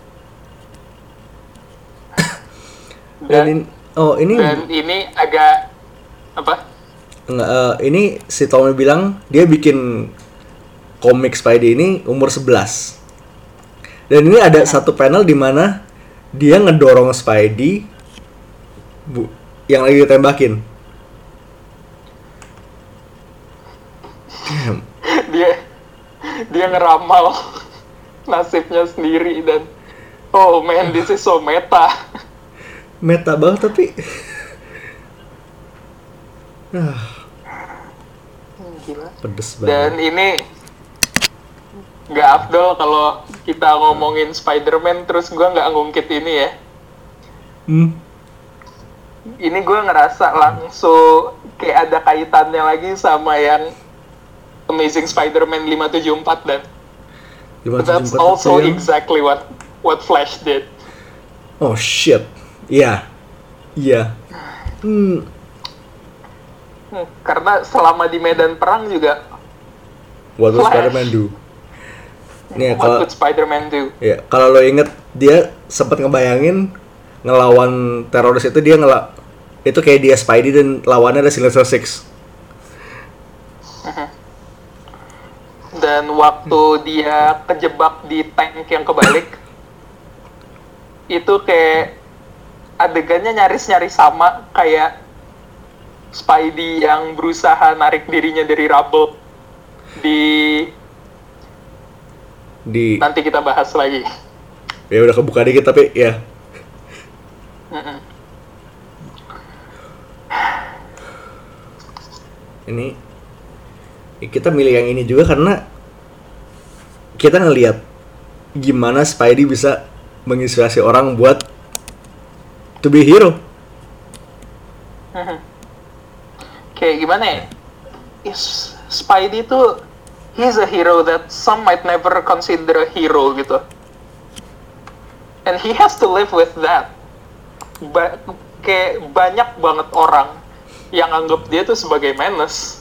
Dan, Dan, in- oh ini dan ini agak apa? Nggak, eh, ini si Tommy bilang dia bikin komik Spidey ini umur sebelas. Dan ini ada satu panel di mana dia ngedorong Spidey bu, yang lagi ditembakin. Damn. dia dia ngeramal nasibnya sendiri dan oh man, this is so meta. Meta banget tapi ah, Gila. pedes Dan banget. ini nggak afdol kalau kita ngomongin Spider-Man terus gue nggak ngungkit ini ya. Hmm. Ini gue ngerasa langsung kayak ada kaitannya lagi sama yang Amazing Spider-Man lima tujuh empat dan that's also yang... exactly what what Flash did. Oh shit. Iya. Iya. Hmm. Hmm, karena selama di medan perang juga What would Flash. Spider-Man do? Nih, what kalau would Spider-Man do? ya, kalau lo inget dia sempat ngebayangin ngelawan teroris itu dia ngela itu kayak dia Spidey dan lawannya ada Sinister Six. Dan waktu dia kejebak di tank yang kebalik, itu kayak adegannya nyaris-nyaris sama kayak Spidey yang berusaha narik dirinya dari rubble di Di nanti kita bahas lagi. ya udah kebuka dikit tapi ya. Mm-mm. Ini kita milih yang ini juga karena kita ngelihat gimana Spidey bisa menginspirasi orang buat to be hero. Mhm. Kayak gimana ya? Is Spidey tuh he's a hero that some might never consider a hero gitu. And he has to live with that. Ba- kayak banyak banget orang yang anggap dia tuh sebagai menace.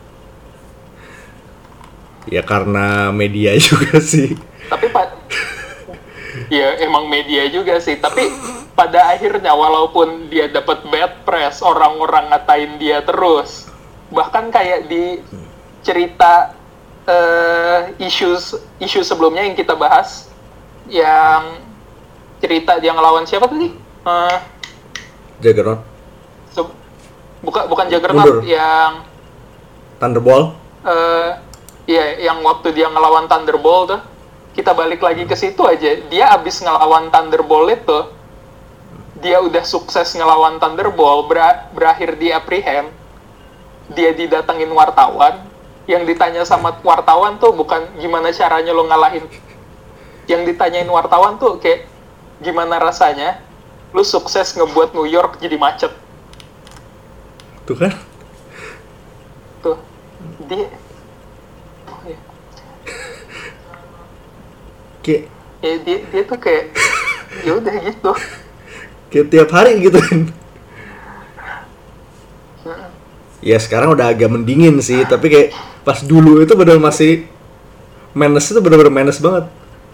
Ya karena media juga sih. Tapi pak, ya emang media juga sih. Tapi pada akhirnya walaupun dia dapat bad press, orang-orang ngatain dia terus. Bahkan kayak di cerita uh, issues isu sebelumnya yang kita bahas, yang cerita dia ngelawan siapa tadi? Uh, Juggernaut, se- buka bukan Juggernaut, Mundur. yang Thunderbolt. uh, ya yang waktu dia ngelawan Thunderbolt tuh, kita balik lagi ke situ aja. Dia abis ngelawan Thunderbolt itu, dia udah sukses ngelawan Thunderbolt, ber- berakhir di apprehend. Dia didatengin wartawan, yang ditanya sama wartawan tuh bukan gimana caranya lo ngalahin. Yang ditanyain wartawan tuh kayak gimana rasanya lu sukses ngebuat New York jadi macet. Tuh kan? Tuh. Dia oh, ya. Kayak Ya, dia, dia tuh kayak ya udah gitu. kayak tiap hari gitu kan. Ya sekarang udah agak mendingin sih, tapi kayak pas dulu itu benar masih menace itu benar-benar menace banget.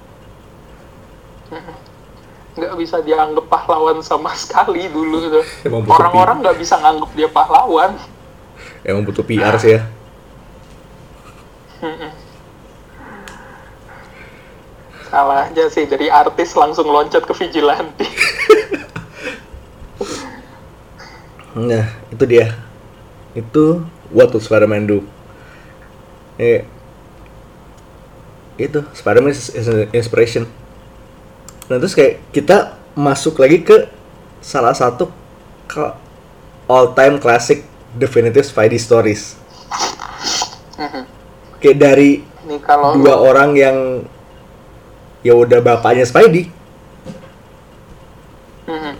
Nggak bisa dianggap pahlawan sama sekali dulu tuh. Emang butuh Orang-orang nggak bisa nganggap dia pahlawan. Emang butuh P R sih ya. Salah aja sih, dari artis langsung loncat ke vigilante. Nah, itu dia. Itu what would Spider-Man do? Eh, itu Spider-Man is is an inspiration. Nah terus kayak kita masuk lagi ke salah satu ke all time classic definitive Spidey stories. Kayak dari Nih kalau dua lu- orang yang ya udah bapaknya Spidey. Mhm.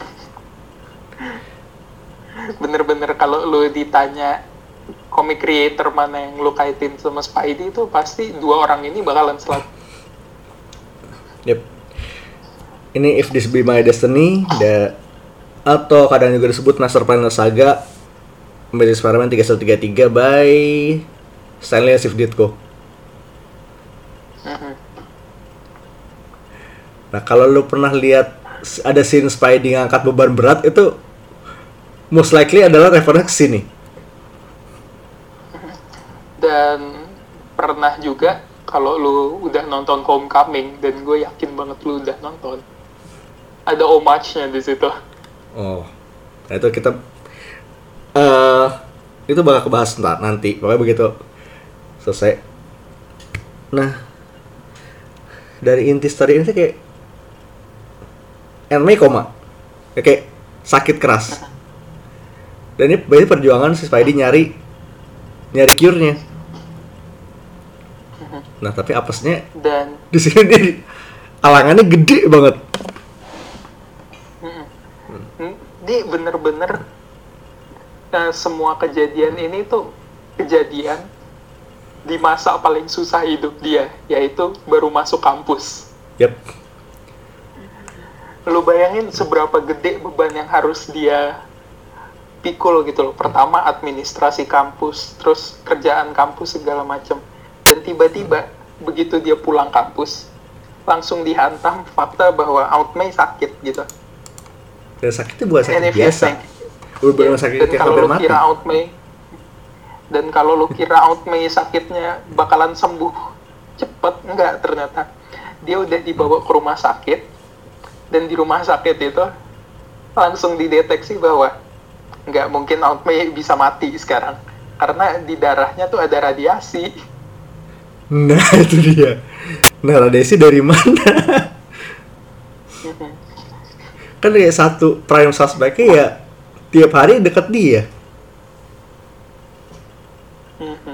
Bener-bener kalau lu ditanya comic creator mana yang lu kaitin sama Spidey, itu pasti dua orang ini bakalan selalu. Yep. Ini If This Be My Destiny, da, atau kadang juga disebut Master Planner Saga Amazing Spider-Man tiga satu tiga tiga by Stanley Steve Ditko. Mhm. Nah, kalau lu pernah lihat ada scene Spidey ngangkat beban berat itu most likely adalah reference ke sini. Dan pernah juga kalau lu udah nonton Homecoming, dan gue yakin banget lu udah nonton, ada homage-nya di situ. Oh, nah itu kita eh itu bakal kebahas ntar nanti. Pokoknya begitu selesai. Nah, dari inti story ini sih kayak Aunt May koma, kayak, kayak sakit keras. Dan ini berarti perjuangan si Spidey nyari nyari cure-nya. Nah, tapi apesnya Dan di sini dia- alangannya gede banget. mm, dia bener-bener eh, semua kejadian ini tuh kejadian di masa paling susah hidup dia, yaitu baru masuk kampus. Yep. Lu bayangin seberapa gede beban yang harus dia pikul gitu loh. Pertama administrasi kampus, terus kerjaan kampus segala macam. Dan tiba-tiba begitu dia pulang kampus, langsung dihantam fakta bahwa Aunt May sakit gitu. Dan sakitnya bukan sakit And if you biasa. think- Udah bener Ya, sakit dan kayak kalau hampir lu mati. kira Aunt May dan kalau lu kira Aunt May sakitnya bakalan sembuh cepet, enggak, ternyata dia udah dibawa ke rumah sakit, dan di rumah sakit itu langsung dideteksi bahwa nggak mungkin Aunt May bisa mati sekarang karena di darahnya tuh ada radiasi. Nah, itu dia. Nah, radiasi dari mana? Kan kayak satu prime suspect-nya ya tiap hari deket dia. Mhm.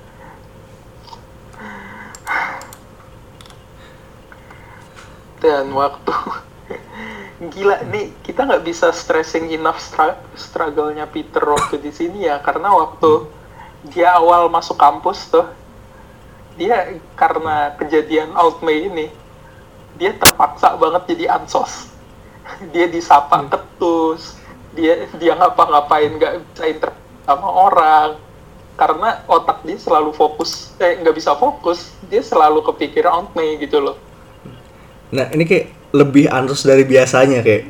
Dan waktu gila nih, kita nggak bisa stressing enough stra- struggle-nya Peter waktu di sini ya, karena waktu dia awal masuk kampus tuh, dia karena kejadian Aunt May ini, dia terpaksa banget jadi ansos. Dia disapa ketus, dia dia ngapa-ngapain nggak bisa interaksi sama orang, karena otak dia selalu fokus, eh nggak bisa fokus, dia selalu kepikiran Aunt May gitu loh. Nah, ini kayak lebih ansos dari biasanya kayak.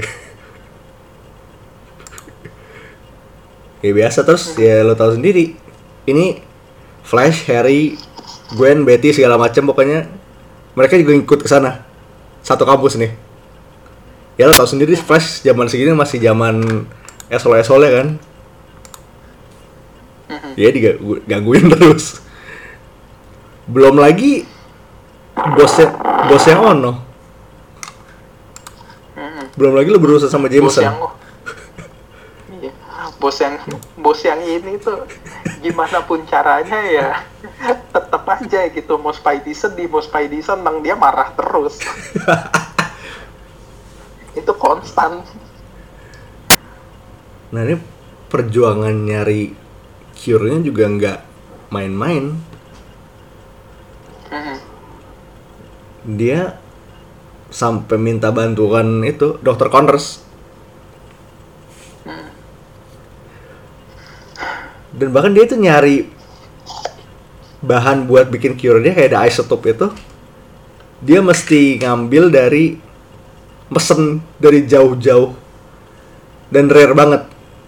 Kayak biasa terus ya lo tahu sendiri. Ini Flash, Harry, Gwen, Betty segala macam pokoknya mereka juga ikut ke sana. Satu kampus nih. Ya lo tahu sendiri Flash zaman segini masih zaman esol-esol ya kan. Ya digangguin terus. Belum lagi bosnya bosnya Ono. Belum lagi lo berurusan sama Bos Jameson. yang iya, bos yang bos yang ini tuh gimana pun caranya ya tetap aja gitu, mau Spidey sedih, mau Spidey senang, dia marah terus. Itu konstan. Nah, ini perjuangan nyari cure-nya juga nggak main-main. Mhm. Dia sampai minta bantuan itu dokter Connors. Dan bahkan dia itu nyari bahan buat bikin cure dia kayak ada isotope itu. Dia mesti ngambil dari mesen dari jauh-jauh dan rare banget.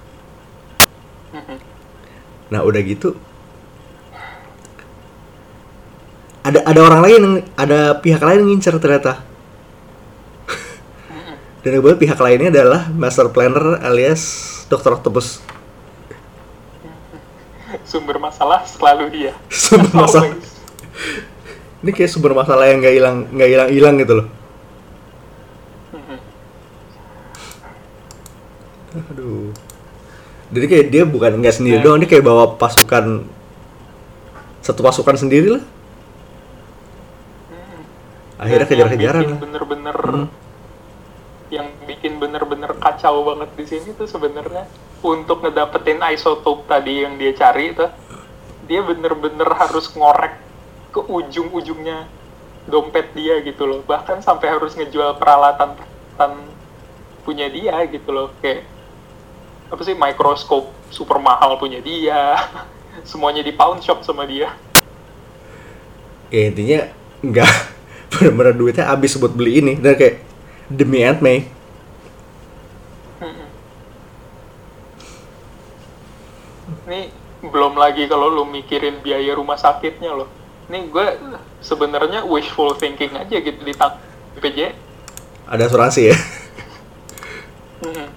Nah, udah gitu ada ada orang lain, ada pihak lain yang ngincer ternyata. Dan kebetulan pihak lainnya adalah Master Planner alias dokter Octopus. Sumber masalah selalu dia. Sumber masalah. Always. Ini kayak sumber masalah yang nggak hilang nggak hilang hilang gitu loh. Aduh. Jadi kayak dia bukan nggak sendiri doang, dia kayak bawa pasukan satu pasukan sendiri lah. Akhirnya Dan kejar-kejaran yang lah. bikin bener-bener Hmm. yang bikin bener-bener kacau banget di sini tuh sebenarnya untuk ngedapetin isotope tadi yang dia cari itu, dia bener-bener harus ngorek ke ujung-ujungnya dompet dia gitu loh, bahkan sampai harus ngejual peralatan peralatan punya dia gitu loh, kayak apa sih, mikroskop super mahal punya dia. Semuanya di pawn shop sama dia. Ya intinya nggak benar-benar duitnya habis buat beli ini dan kayak demi Aunt May. Ini belum lagi kalau lu mikirin biaya rumah sakitnya loh. Ini gue sebenarnya wishful thinking aja gitu di tang B P J. Ada asuransi ya. Hmm.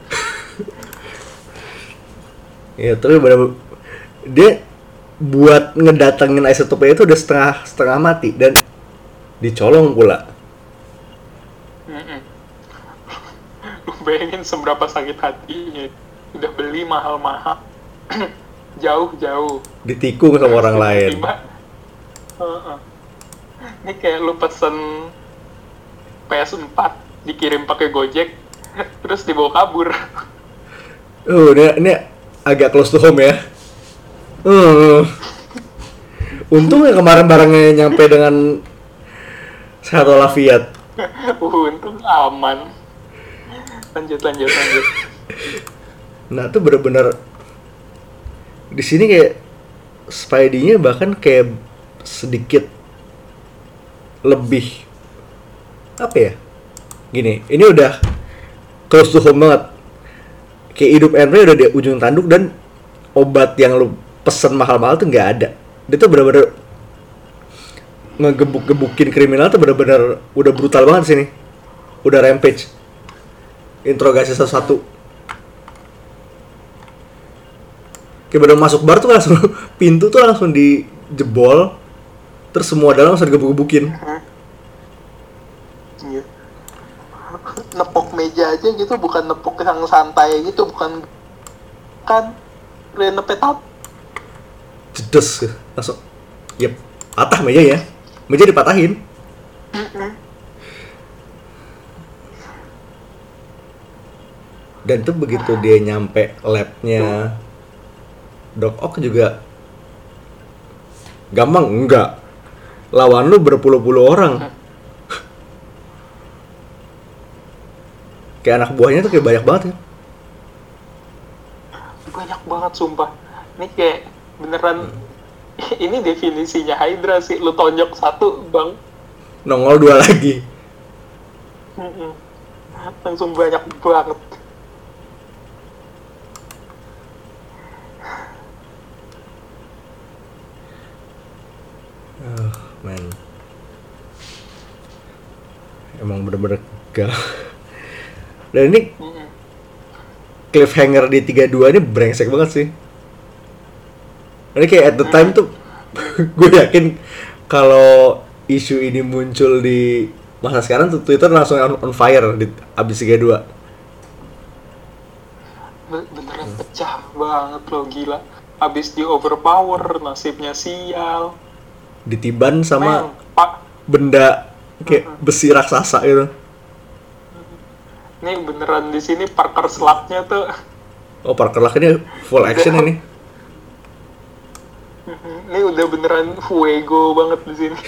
Ya terus bener dia buat ngedatengin isotopnya itu udah setengah setengah mati dan dicolong pula. Mm-mm. Lu bayangin seberapa sakit hatinya. Udah beli mahal-mahal. Jauh-jauh. Ditikung sama orang lain. Tiba-tiba, uh-uh. Ini kayak lu pesen P S four dikirim pakai Gojek terus dibawa kabur. Uh, ini, ini agak close to home ya. Uh. Untung ya kemarin barangnya nyampe dengan sehat walafiat. Uh, untung aman. Lanjut, lanjut, lanjut. Nah, itu bener-bener di sini kayak Spidey-nya bahkan kayak sedikit lebih apa ya? Gini, ini udah close to home banget. Kayak hidup Henry udah di ujung tanduk dan obat yang lu pesen mahal-mahal tuh nggak ada. Dia tuh bener-bener ngegebuk-gebukin kriminal tuh bener-bener udah brutal banget sini. Udah rampage. Interogasi satu-satu. Kayak baru masuk bar tuh langsung pintu tuh langsung dijebol, terus semua dalam langsung digebuk-gebukin. Iya. Nepok meja aja gitu, bukan nepok yang santai gitu, bukan kan renepet up. Jedes langsung. Yep, patah meja ya. Meja dipatahin. Mm-mm. Dan tuh begitu dia nyampe labnya Doc Ock juga gampang enggak. Lawan lu berpuluh-puluh orang. Kayak anak buahnya tuh kayak banyak banget ya. Banyak banget sumpah. Ini kayak beneran ini definisinya Hydra sih. Lu tonjok satu, Bang. Nongol dua lagi. Mm-mm. Langsung banyak banget. Oh, man. Emang bener-bener gak. Dan ini Mm-mm. cliffhanger di tiga dua ini brengsek banget sih. Ini kayak at the time tuh gue yakin kalau isu ini muncul di masa sekarang tuh Twitter langsung on, on fire di abis tiga dua. Beneran pecah banget loh, gila. Abis di overpower, nasibnya sial. Ditiban sama Men, Pak. benda kayak Mm-mm. besi raksasa gitu. Ini beneran di sini Parker Slug-nya tuh. Oh, Parker Luck ini full action ini. Ini udah beneran fuego banget di sini.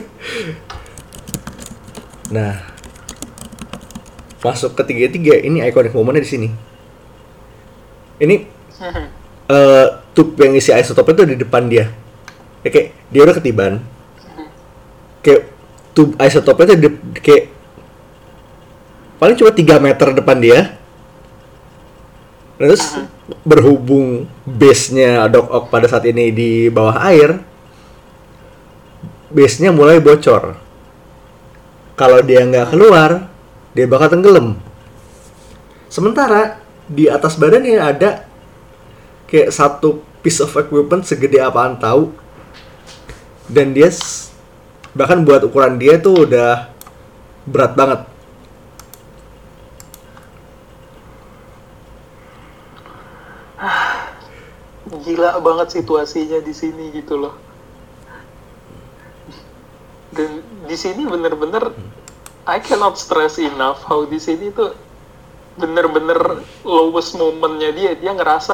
Nah, masuk ke tiga tiga ini iconic momennya di sini. Ini uh, tube yang isi isotopnya tuh di depan dia. Ya, kayak dia udah ketiban. Kayak tube isotopnya tuh di, kayak paling cuma tiga meter depan dia. Terus berhubung base-nya Doc Ock pada saat ini di bawah air, base-nya mulai bocor. Kalau dia nggak keluar, dia bakal tenggelam. Sementara di atas badannya ada kayak satu piece of equipment segede apaan tahu, dan dia s- bahkan buat ukuran dia tuh udah berat banget. Gila banget situasinya di sini gitu loh. Dan di sini bener-bener I cannot stress enough how di sini tuh bener-bener lowest momentnya dia. Dia ngerasa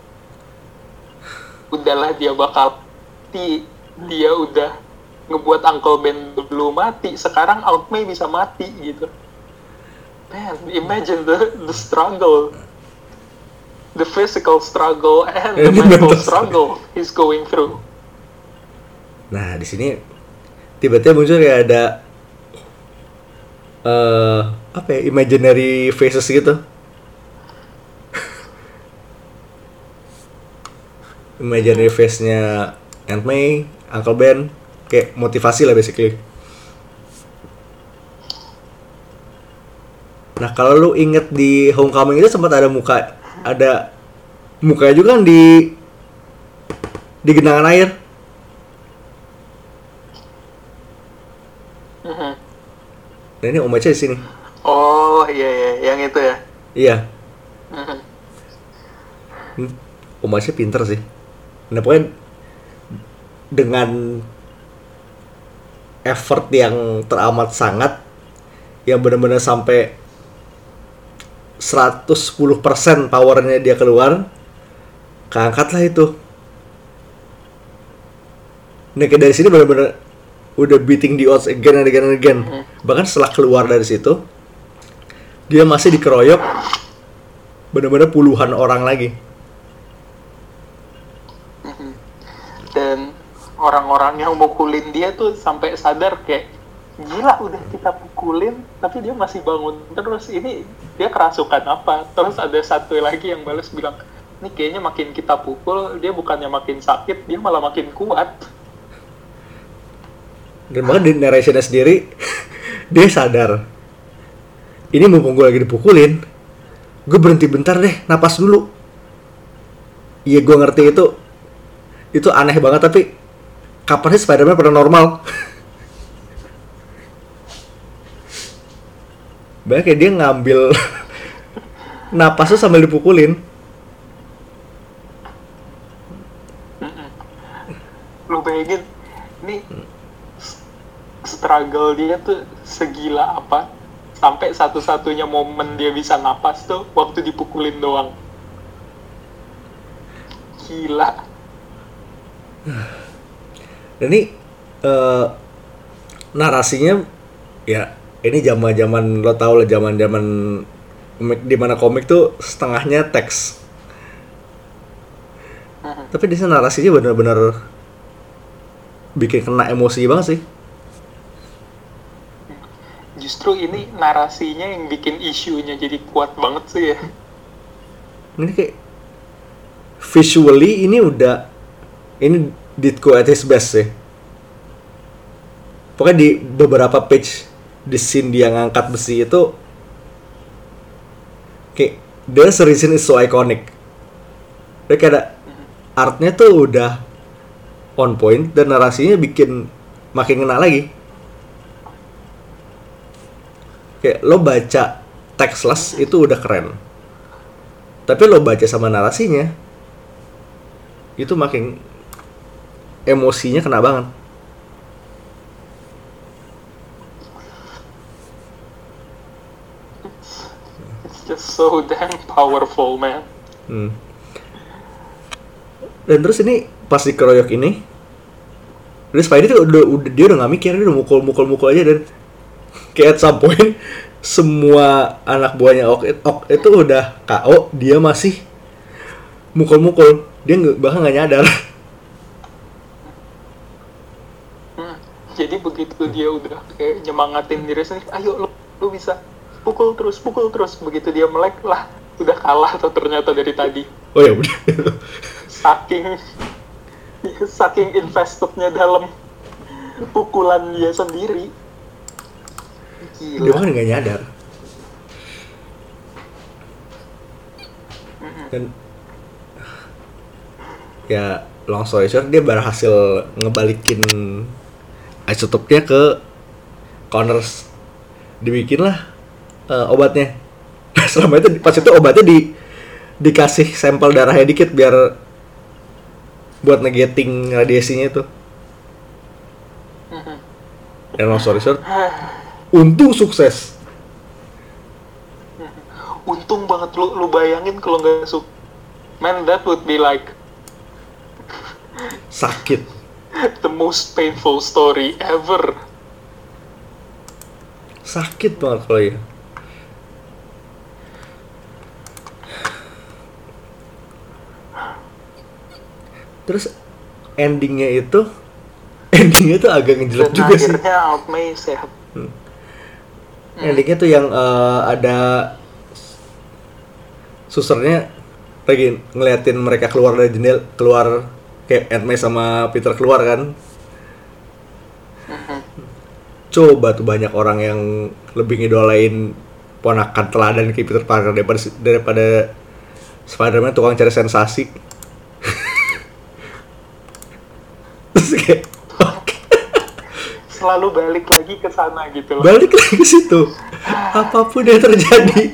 udahlah dia bakal mati. Dia udah ngebuat Uncle Ben dulu mati. Sekarang Aunt May bisa mati gitu. Man, imagine the the struggle. The physical struggle and the Ini mental mental struggle he's going through. Nah, di sini tiba-tiba muncul kayak ada eh apa ya, imaginary faces gitu. Imaginary face-nya Aunt May, Uncle Ben, kayak motivasi lah basically. Nah kalau lu inget di Homecoming itu sempat ada muka, ada mukanya juga kan di di genangan air. Mhm. Nah ini Om Aca di sini. Oh iya iya, yang itu ya. Iya, Mhm. Hmm, Om Aca pinter sih. Nah pokoknya dengan effort yang teramat sangat, yang benar-benar sampai seratus sepuluh persen powernya dia keluar, keangkat lah itu. Nah kayak dari sini benar-benar udah beating the odds again and again and again. Bahkan setelah keluar dari situ, dia masih dikeroyok benar-benar puluhan orang lagi. Dan orang-orang yang mukulin dia tuh sampai sadar kayak gila udah kita pukulin tapi dia masih bangun terus, ini dia kerasukan apa. Terus ada satu lagi yang balas bilang, ini kayaknya makin kita pukul dia bukannya makin sakit, dia malah makin kuat. Dan bahkan di narrationnya sendiri dia sadar, ini mumpung gue lagi dipukulin, gue berhenti bentar deh, napas dulu. Iya gue ngerti itu itu aneh banget, tapi kapan sih Spider-Man pernah normal? Bahkan kayak dia ngambil napasnya sambil dipukulin. Lu bayangin ini struggle dia tuh segila apa sampai satu-satunya momen dia bisa napas tuh waktu dipukulin doang. Gila. Dan ini uh, narasinya ya ini zaman-zaman lo tau lah, zaman-zaman komik, di mana komik tuh setengahnya teks. Tapi di sana narasinya benar-benar bikin kena emosi banget sih. Justru ini narasinya yang bikin isunya jadi kuat banget sih ya. Ini kayak visually ini udah, ini Ditko at his best sih. Pokoknya di beberapa page di scene dia ngangkat besi itu kayak there's a reason is so iconic. Dia kayak ada artnya tuh udah on point dan narasinya bikin makin ngena lagi. Kayak lo baca textless itu udah keren, tapi lo baca sama narasinya itu makin emosinya kena banget. It's just so damn powerful, man. Hmm. Dan terus ini pas dikeroyok ini, terus Spidey tuh udah, udah dia udah nggak mikir, dia udah mukul-mukul-mukul aja. Dan kayak at some point semua anak buahnya Ok, Ok itu udah K O, dia masih mukul-mukul, dia nggak, bahkan nggak nyadar. Hmm. Jadi begitu dia udah kayak nyemangatin diri sendiri, ayo lu, lu bisa pukul terus, pukul terus. Begitu dia melek lah, udah kalah tuh ternyata dari tadi. Oh ya udah. Saking saking investednya dalam pukulan dia sendiri. Gila. Dia bahkan nggak nyadar. Dan ya long story short, dia berhasil ngebalikin isotopnya ke Connors, dibikinlah uh, obatnya. Selama itu pas itu obatnya di dikasih sampel darahnya dikit biar buat negating radiasinya itu. Dan long story short, untung sukses. Untung banget. Lu lu bayangin kalau nggak suk, man, that would be like sakit. the most painful story ever. Sakit banget kalau ya. Terus endingnya itu endingnya tuh agak ngejelek Dan juga sih. akhirnya Aunt May sehat. Hmm. Endingnya tuh yang uh, ada susternya lagi ngeliatin mereka keluar dari jendela, keluar kayak Aunt May sama Peter keluar kan. Mhm. Coba tuh banyak orang yang lebih ngidolain ponakan teladan kayak Peter Parker daripada daripada Spider-Man tukang cari sensasi. Terus kayak oke. Selalu balik lagi ke sana gitu loh. Balik lagi ke situ. Apapun yang terjadi.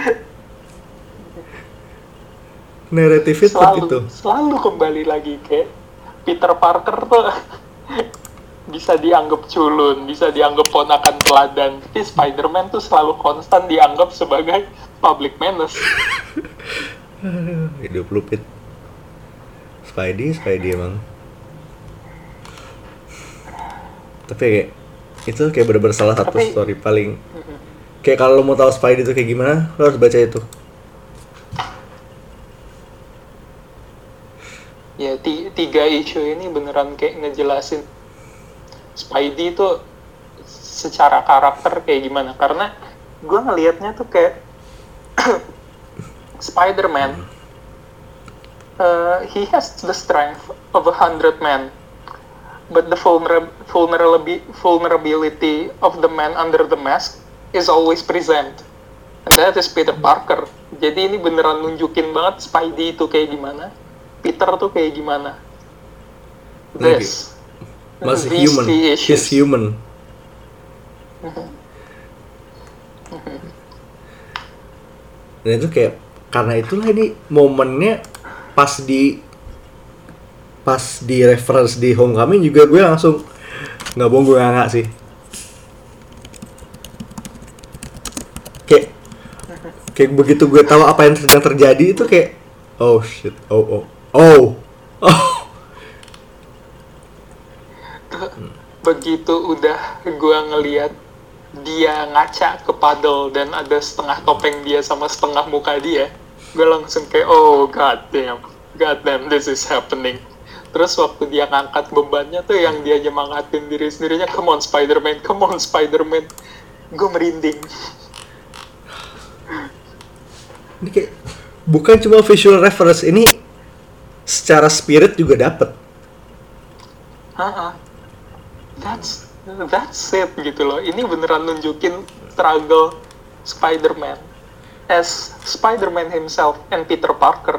Naratifnya tetap Selalu, itu. selalu kembali lagi kayak Peter Parker tuh bisa dianggap culun, bisa dianggap ponakan teladan. Tapi Spider-Man tuh selalu konstan dianggap sebagai public menace. Hidup lupit. Spidey, Spidey emang. Tapi kayak itu kayak bener-bener salah satu Tapi- story paling. Kayak kalau lo mau tahu Spidey itu kayak gimana, lo harus baca itu. Ya ti- tiga isu ini beneran kayak ngejelasin Spidey itu secara karakter kayak gimana. Karena gue ngelihatnya tuh kayak Spider-Man, uh, he has the strength of a hundred men, but the vulner- vulnerability vulnerability of the man under the mask is always present. And that is Peter Parker. Jadi ini beneran nunjukin banget Spidey itu kayak gimana, Peter tuh kayak gimana. This, Masih these human. key He's issues. human. Dan itu kayak karena itulah ini momennya pas di pas di reference di Homecoming juga gue langsung nggak bohong gue nggak sih. Kayak kayak begitu gue tahu apa yang sedang terjadi itu kayak oh shit, oh oh oh oh. Begitu udah gue ngeliat dia ngaca ke paddle dan ada setengah topeng dia sama setengah muka dia, gue langsung kayak oh god damn, god damn this is happening. Terus waktu dia ngangkat bebannya tuh yang dia nyemangatin diri sendirinya, come on Spider-Man, come on Spider-Man, gue merinding. Ini kayak bukan cuma visual reference, ini secara spirit juga dapet. Haha. That's that's it gitu loh. Ini beneran nunjukin struggle Spider-Man as Spider-Man himself and Peter Parker.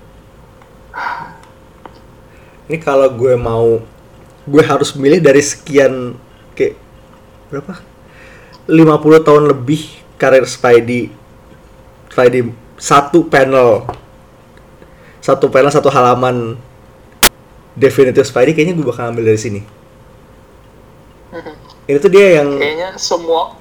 Ini kalau gue mau, gue harus milih dari sekian kayak berapa? lima puluh tahun lebih karir Spidey. Spidey satu panel. Satu panel satu halaman Definitive Spidey kayaknya gue bakal ambil dari sini. Ini tuh dia yang Kayaknya semua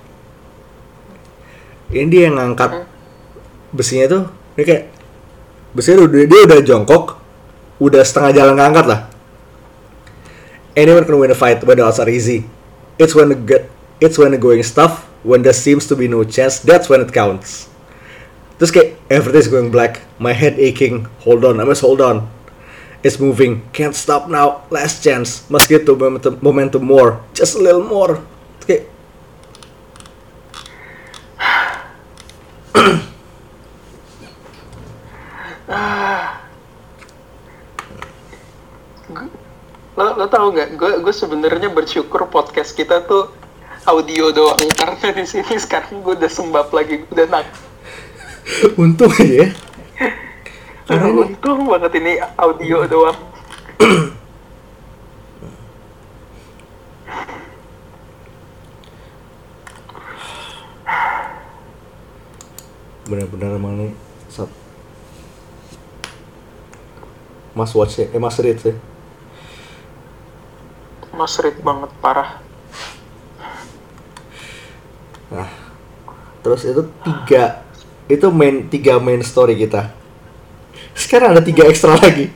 ini dia yang ngangkat besinya tuh. Ini kayak besinya udah dia udah jongkok, udah setengah jalan ngangkat lah. Anyone can win a fight when the odds are easy. It's when the get, it's when the going tough, when there seems to be no chance, that's when it counts. Terus kayak everything's going black, my head aching, hold on, I must hold on. It's moving, can't stop now, last chance, must get to momentum, momentum more, just a little more. Terus kayak lo lo tau nggak? Gue gue sebenarnya bersyukur podcast kita tuh audio doang karena di sini sekarang gue udah sembab lagi, udah nak. untung aja ya. Karena ini Untung banget ini audio doang. benar-benar emang nih sat Mas watch ya, eh Mas read ya. Mas Reed banget parah. Nah, terus itu tiga, itu main tiga main story kita. Sekarang ada tiga ekstra lagi.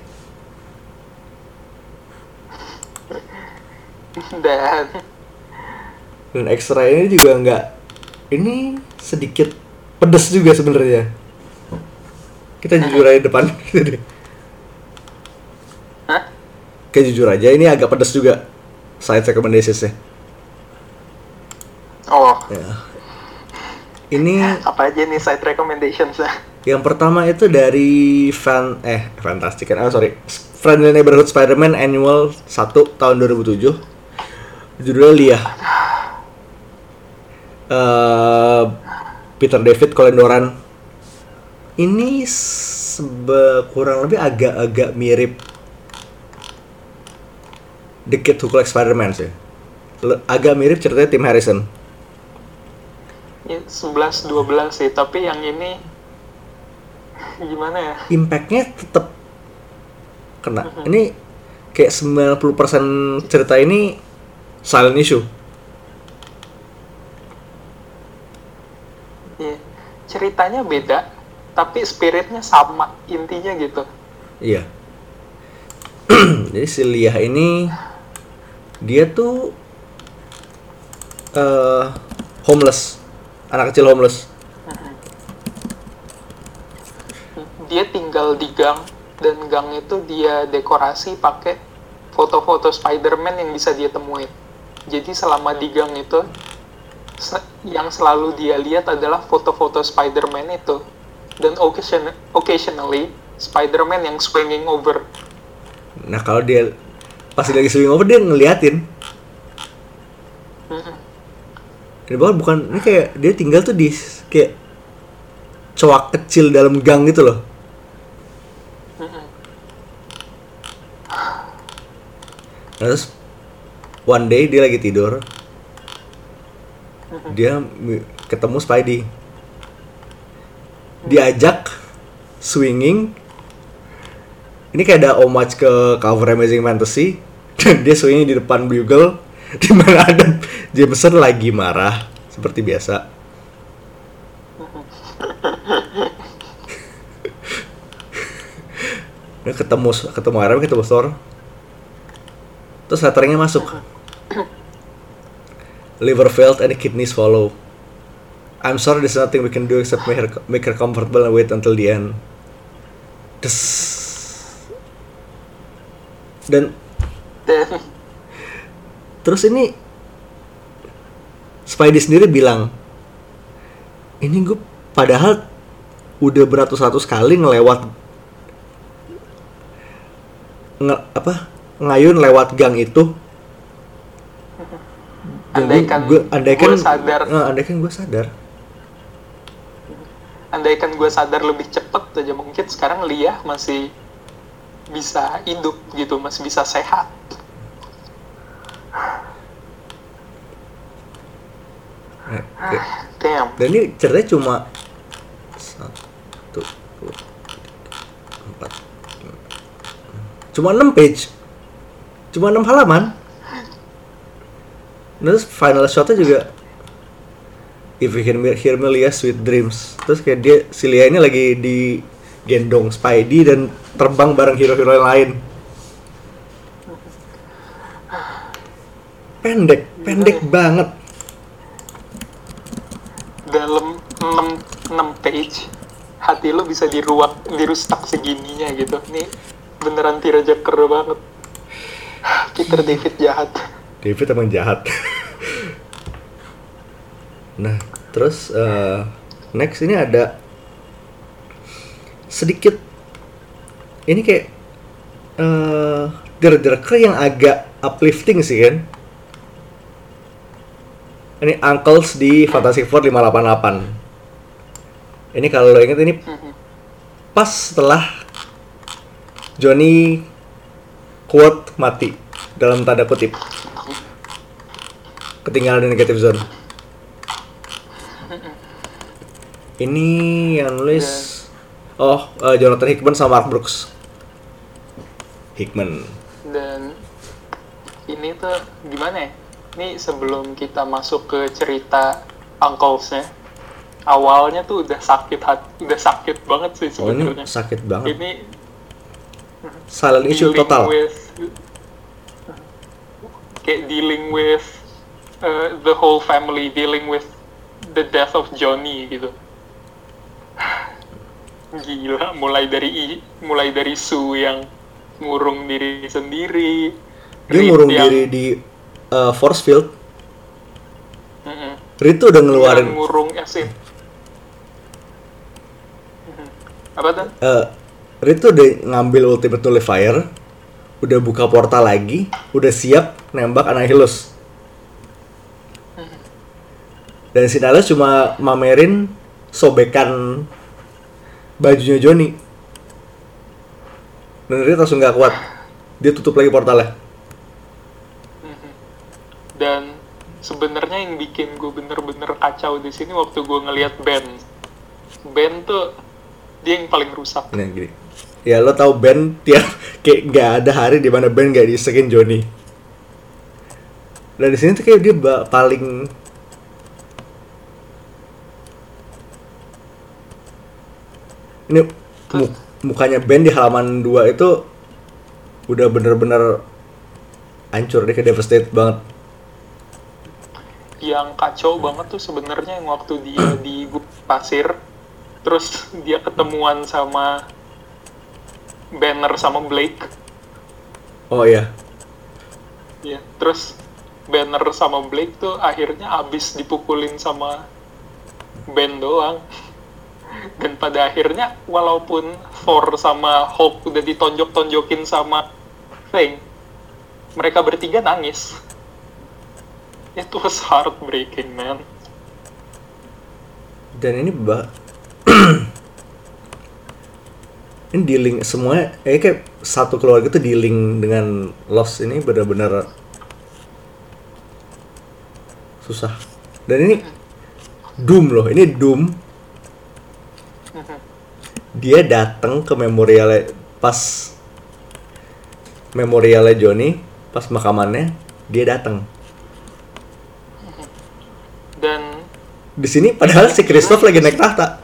Dan Dan ekstra ini juga nggak, ini sedikit pedes juga sebenarnya. Kita jujur aja depan. Hah? Kayak jujur aja ini agak pedes juga. side recommendations-nya. Oh, Ya. Ini apa aja nih side recommendations ya? yang pertama itu dari fan eh Fantastic kan, oh sorry, Friendly Neighborhood Spider-Man Annual satu tahun dua ribu tujuh. Judulnya Lia. Uh, Peter David, Colin Doran. Ini sebe kurang lebih agak-agak mirip The Kid Who Collects Spider-Man sih. Le- agak mirip ceritanya Tim Harrison. Ya, sebelas dua belas sih, tapi yang ini gimana ya? Impact-nya tetap kena. Ini kayak sembilan puluh persen cerita ini silent issue. Ya, ceritanya beda, tapi spiritnya sama, intinya gitu. Iya. Jadi si Lia ini dia tuh uh, homeless, anak kecil homeless. Dia tinggal di gang, dan gang itu dia dekorasi pakai foto-foto Spider-Man yang bisa dia temuin. Jadi selama di gang itu, se- yang selalu dia lihat adalah foto-foto Spider-Man itu. Dan occasion- occasionally, Spider-Man yang swinging over. Nah kalau dia pas dia lagi swing over dia ngeliatin. Mm-mm. Ini bahkan bukan, ini kayak dia tinggal tuh di kayak coak kecil dalam gang gitu loh. Mm-mm. Nah, terus one day dia lagi tidur, dia mi- ketemu Spidey, diajak swinging. Ini kayak ada homage ke cover Amazing Fantasy, dan dia swinging di depan Bugle, di mana ada Jameson lagi marah seperti biasa. Dia ketemu ketemu Iron Man, ketemu Thor. Terus letternya masuk. Liver failed and kidneys follow. I'm sorry, there's nothing we can do except make her, make her comfortable and wait until the end. Des. Dan Dan terus ini Spidey sendiri bilang, ini gue padahal udah beratus-ratus kali ngelewat nge, apa ngayun lewat gang itu. Dan andaikan gue andaikan gue sadar, eh, andaikan gue sadar. andaikan gue sadar lebih cepet aja, mungkin sekarang Lia masih bisa hidup gitu, masih bisa sehat. Nah, kayak- Damn. dan ini ceritanya cuma satu, dua, tiga, empat, lima. Cuma enam page, cuma enam halaman. Terus final shotnya juga, if you can hear me Lia's sweet dreams. Terus kayak dia, si Lia ini lagi di gendong Spidey dan terbang bareng hero-hero yang lain. Pendek, pendek banget. Dalam enam page hati lo bisa diruak, dirustak segininya gitu. Ini beneran tearjerker banget. Peter David jahat. David emang jahat. Nah, terus uh, next ini ada sedikit ini kayak uh, tearjerker yang agak uplifting sih kan. Ini Uncles di Fantastic Four lima delapan delapan. Ini kalau lo inget ini pas setelah Johnny quote mati dalam tanda kutip, ketinggalan di negative zone. Ini yang nulis oh uh, Jonathan Hickman sama Mark Brooks. Hickman. Dan ini tuh gimana ya? Ini sebelum kita masuk ke cerita Uncles-nya, awalnya tuh udah sakit hati, udah sakit banget sih Oh ini sebenarnya. sakit banget. Ini Silent issue dealing total. with, kayak dealing with uh, the whole family, dealing with the death of Johnny gitu. Gila, mulai dari mulai dari Sue yang ngurung diri sendiri, Dia Reed ngurung yang- diri di uh, force field. Mm-mm. Reed tuh udah ngeluarin Yang ngurung Esin. Mhm. Apa tuh? uh, Reed tuh udah ngambil ultimate nullifier, udah buka portal lagi, udah siap nembak Annihilus. Dan si Nihilus cuma mamerin sobekan bajunya Johnny. Dan Reed langsung gak kuat. Dia tutup lagi portalnya. Dan sebenarnya yang bikin gue bener-bener kacau di sini waktu gue ngelihat Ben. Ben tuh dia yang paling rusak. Nah, gini. Ya lo tau Ben tiap kayak nggak ada hari di mana Ben nggak disekin Johnny. Dan di sini tuh kayak dia ba- paling ini mu- mukanya Ben di halaman dua itu udah bener-bener hancur, dia kayak devastated banget. Yang kacau banget tuh sebenarnya yang waktu dia di gubuk pasir, terus dia ketemuan sama Banner sama Blake. Oh iya. Ya, terus Banner sama Blake tuh akhirnya abis dipukulin sama Ben doang. Dan pada akhirnya walaupun Thor sama Hulk udah ditonjok-tonjokin sama Thing, mereka bertiga nangis. It was heartbreaking, man. Dan ini bah ini dealing semuanya eh, kayak satu keluarga tuh dealing dengan loss ini benar-benar susah. Dan ini Doom loh, ini Doom. Dia datang ke memorialnya pas memorialnya Johnny, pas makamannya dia datang. Dan Di sini padahal si Christoph lagi naik tahta.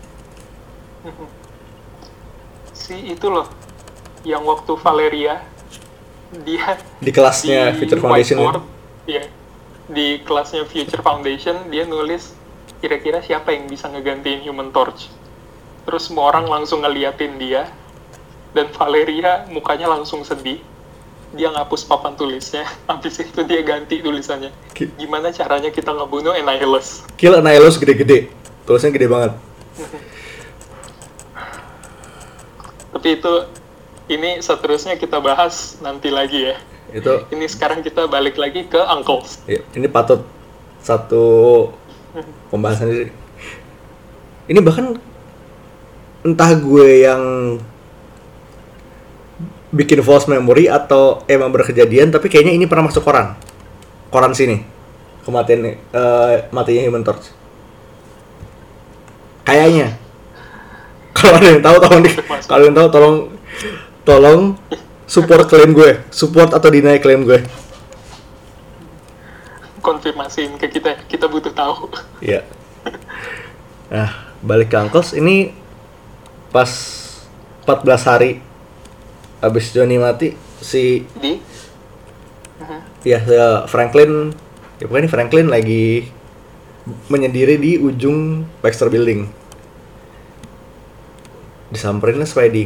si itu loh, yang waktu Valeria dia Di kelasnya di Future Foundation ya. whiteboard, ya, di kelasnya Future Foundation dia nulis kira-kira siapa yang bisa ngegantiin Human Torch. Terus semua orang langsung ngeliatin dia, dan Valeria mukanya langsung sedih. Dia ngapus papan tulisnya, habis itu dia ganti tulisannya. Ki- Gimana caranya kita ngebunuh Annihilus? Kill Annihilus gede-gede. Tulisnya gede banget. Tapi itu, ini seterusnya kita bahas nanti lagi ya. Itu Ini sekarang kita balik lagi ke Uncles. ya, ini patut satu pembahasan sendiri. Ini bahkan entah gue yang bikin false memory atau emang berkejadian, tapi kayaknya ini pernah masuk koran. Koran sini. Kematian eh matinya Human Torch. Kayaknya. Kalau ada yang tahu tolong di, kalau ada yang tahu tolong tolong support klaim gue, support atau deny klaim gue. Konfirmasiin ke kita, kita butuh tahu. Iya. Nah, balik ke Uncles ini pas empat belas hari abis Johnny mati, si Di? ya ya, Franklin, ya pokoknya ini Franklin lagi menyendiri di ujung Baxter Building. Disamperin lah Spidey.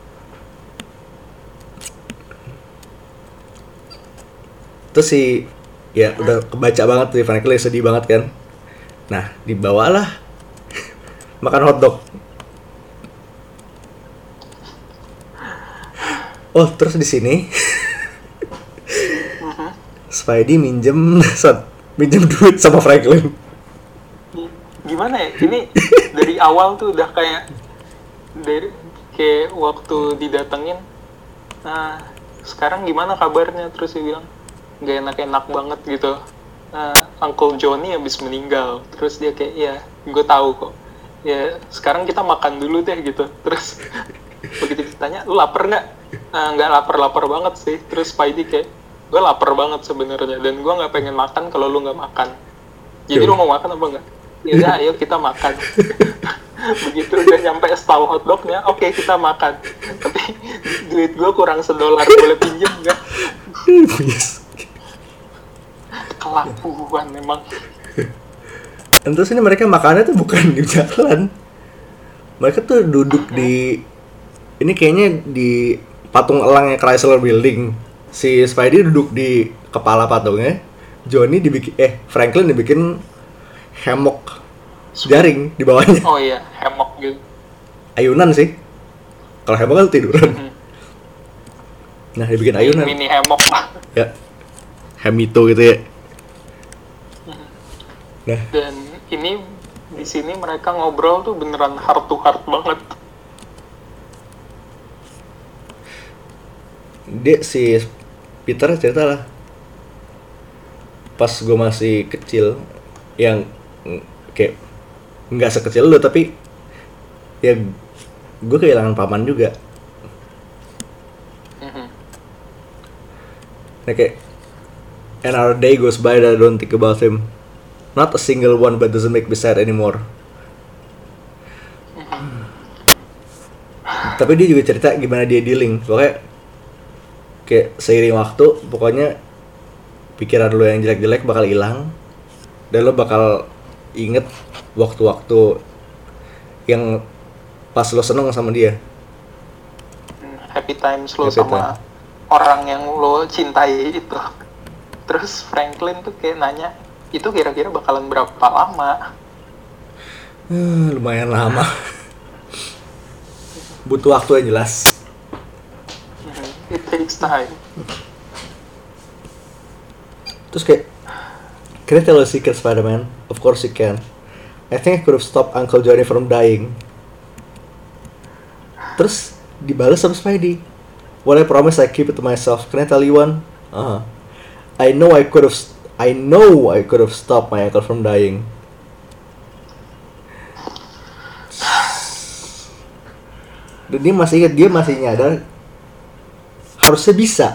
Terus si ya udah kebaca banget tuh Franklin sedih banget kan. Nah, dibawalah makan hotdog. Oh, terus di sini Spidey minjem saat minjem duit sama Franklin. Gimana ya? Ini dari awal tuh udah kayak dari kayak waktu didatengin. Nah, sekarang gimana kabarnya? Terus dia bilang nggak enak-enak banget gitu. Nah, Uncle Johnny habis meninggal. Terus dia kayak, ya, gue tahu kok. Ya, sekarang kita makan dulu deh gitu. Terus begitu ditanya, lu lapar nggak? Nah, nggak lapar-lapar banget sih. Terus Spidey kayak, gue lapar banget sebenarnya. Dan gue nggak pengen makan kalau lu nggak makan. Jadi lu mau makan apa nggak? Yaudah, ayo kita makan. Begitu udah nyampe stall hotdognya, oke okay, kita makan. Tapi duit gue kurang sedolar, boleh pinjem nggak? Yes. Kelakuan memang. Dan terus ini mereka makannya tuh bukan di jalan. Mereka tuh duduk di ini kayaknya di patung elangnya Chrysler Building. Si Spidey duduk di kepala patungnya. Johnny dibikin eh Franklin dibikin hammock jaring di bawahnya. Oh iya, hammock gitu. Ayunan sih. Kalau hammock kan tiduran. Hmm. Nah, dibikin ayunan. Mini hammock lah. Ya. Hamito gitu ya. Nah, Dan ini di sini mereka ngobrol tuh beneran heart to heart banget. dia si Peter cerita lah. Pas gue masih kecil, yang mm, kayak nggak sekecil lu tapi ya gue kehilangan paman juga. Mhm. Nah, kayak another day goes by that I don't think about him. Not a single one, but doesn't make me sad anymore. Tapi dia juga cerita gimana dia dealing. Pokoknya kayak seiring waktu, pokoknya pikiran lo yang jelek-jelek bakal hilang. Dan lo bakal inget waktu-waktu yang pas lo seneng sama dia. Happy times lo Happy sama orang yang lo cintai itu. Terus Franklin tuh kayak nanya, itu kira-kira bakalan berapa lama? Hmm, lumayan lama. Butuh waktu yang jelas. Mhm. It takes time. Terus kayak, can I tell a secret, Spider-Man? Of course you can. I think I could have stopped Uncle Johnny from dying. Terus dibalas sama Spidey. Well, I promise I keep it to myself. Can I tell you one? Uh-huh. I know I could have. I know I could have stopped my uncle from dying. Dan dia masih ingat, dia masih nyadar harusnya bisa.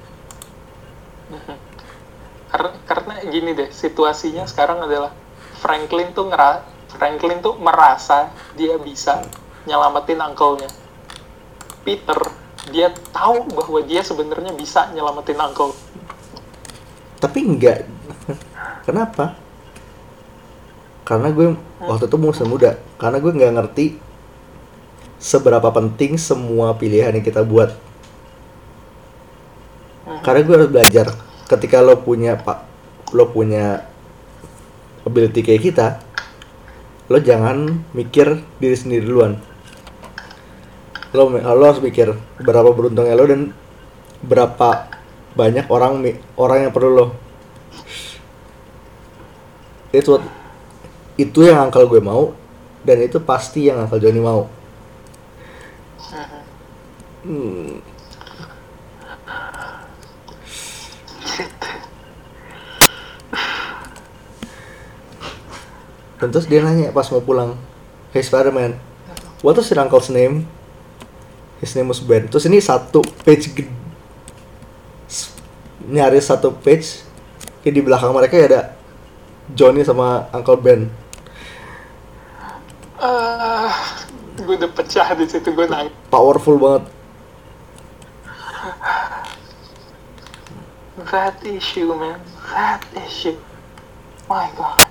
Karena, karena gini deh, situasinya sekarang adalah Franklin tuh ngera, Franklin tuh merasa dia bisa nyelamatin uncle-nya. Peter, dia tahu bahwa dia sebenarnya bisa nyelamatin uncle. Tapi enggak. Kenapa? Karena gue waktu itu masih muda. Karena gue nggak ngerti seberapa penting semua pilihan yang kita buat. Karena gue harus belajar. Ketika lo punya pak, lo punya ability kayak kita, lo jangan mikir diri sendiri duluan. Lo, lo harus mikir berapa beruntungnya lo dan berapa banyak orang orang yang perlu lo. Itu itu yang uncle gue mau dan itu pasti yang uncle Johnny mau. Hmm. Dan terus dia nanya pas mau pulang, "Hey Spider-Man, what was your uncle's name?" His name was Ben. Terus ini satu page gede, nyaris satu page, kayak di belakang mereka ya ada Johnny sama Uncle Ben. Uh, gue udah pecah di situ, gue nangis. Powerful banget. That issue, man. That issue. My God.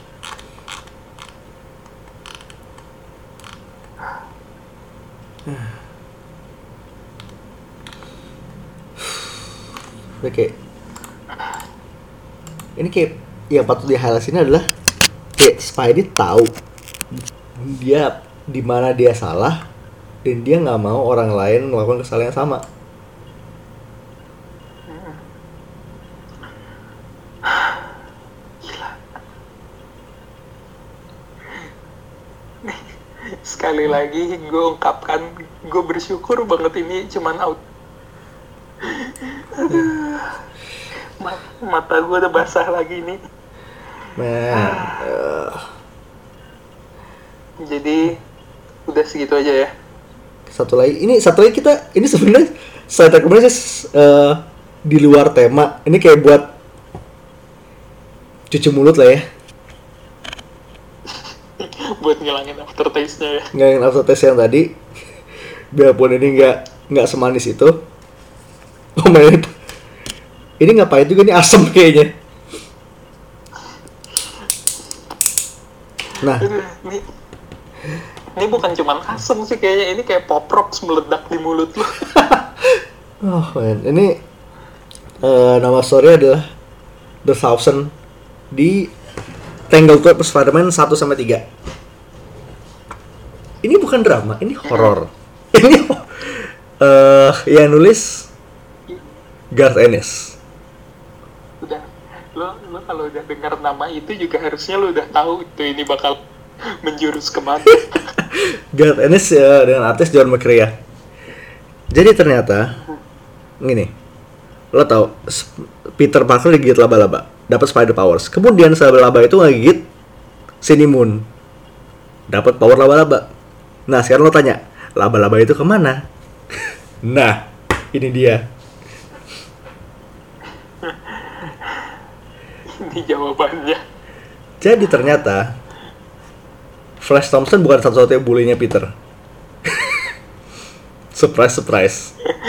Udah kayak ini kayak yang patut di highlight ini adalah kayak Spidey tahu dia di mana dia salah dan dia nggak mau orang lain melakukan kesalahan yang sama. Sekali lagi gue ungkapkan, gue bersyukur banget ini cuman out. Mata gue udah basah lagi nih. Man, uh, Jadi udah segitu aja ya. satu lagi ini satu lagi kita ini sebenarnya saya rekomendasi uh, di luar tema. Ini kayak buat cuci mulut lah ya. Buat ngilangin aftertaste-nya ya. Ngilangin aftertaste yang tadi. Biarpun ini nggak nggak semanis itu. Oh my God. Ini nggak pahit juga, ini asam kayaknya. Nah, Ini, ini bukan cuman asem sih kayaknya, ini kayak pop rocks meledak di mulut lu. oh man, ini uh, nama story adalah The Thousand di Tangled Web Spider-Man satu sampai tiga. Ini bukan drama, ini horor. Ini uh, yang nulis Garth Ennis. Udah, lo lo kalau udah dengar nama itu juga harusnya lo udah tahu itu ini bakal menjurus kemana. Garth Ennis ya, dengan artis John McCrea. Jadi ternyata gini, lo tau Peter Parker digigit laba-laba, dapat spider powers. Kemudian laba-laba itu ngegigit Sini Moon, dapat power laba-laba. Nah sekarang lo tanya, laba-laba itu kemana? Nah, ini dia. Ini jawabannya. Jadi ternyata Flash Thompson bukan satu-satunya bulinya Peter. Surprise, surprise.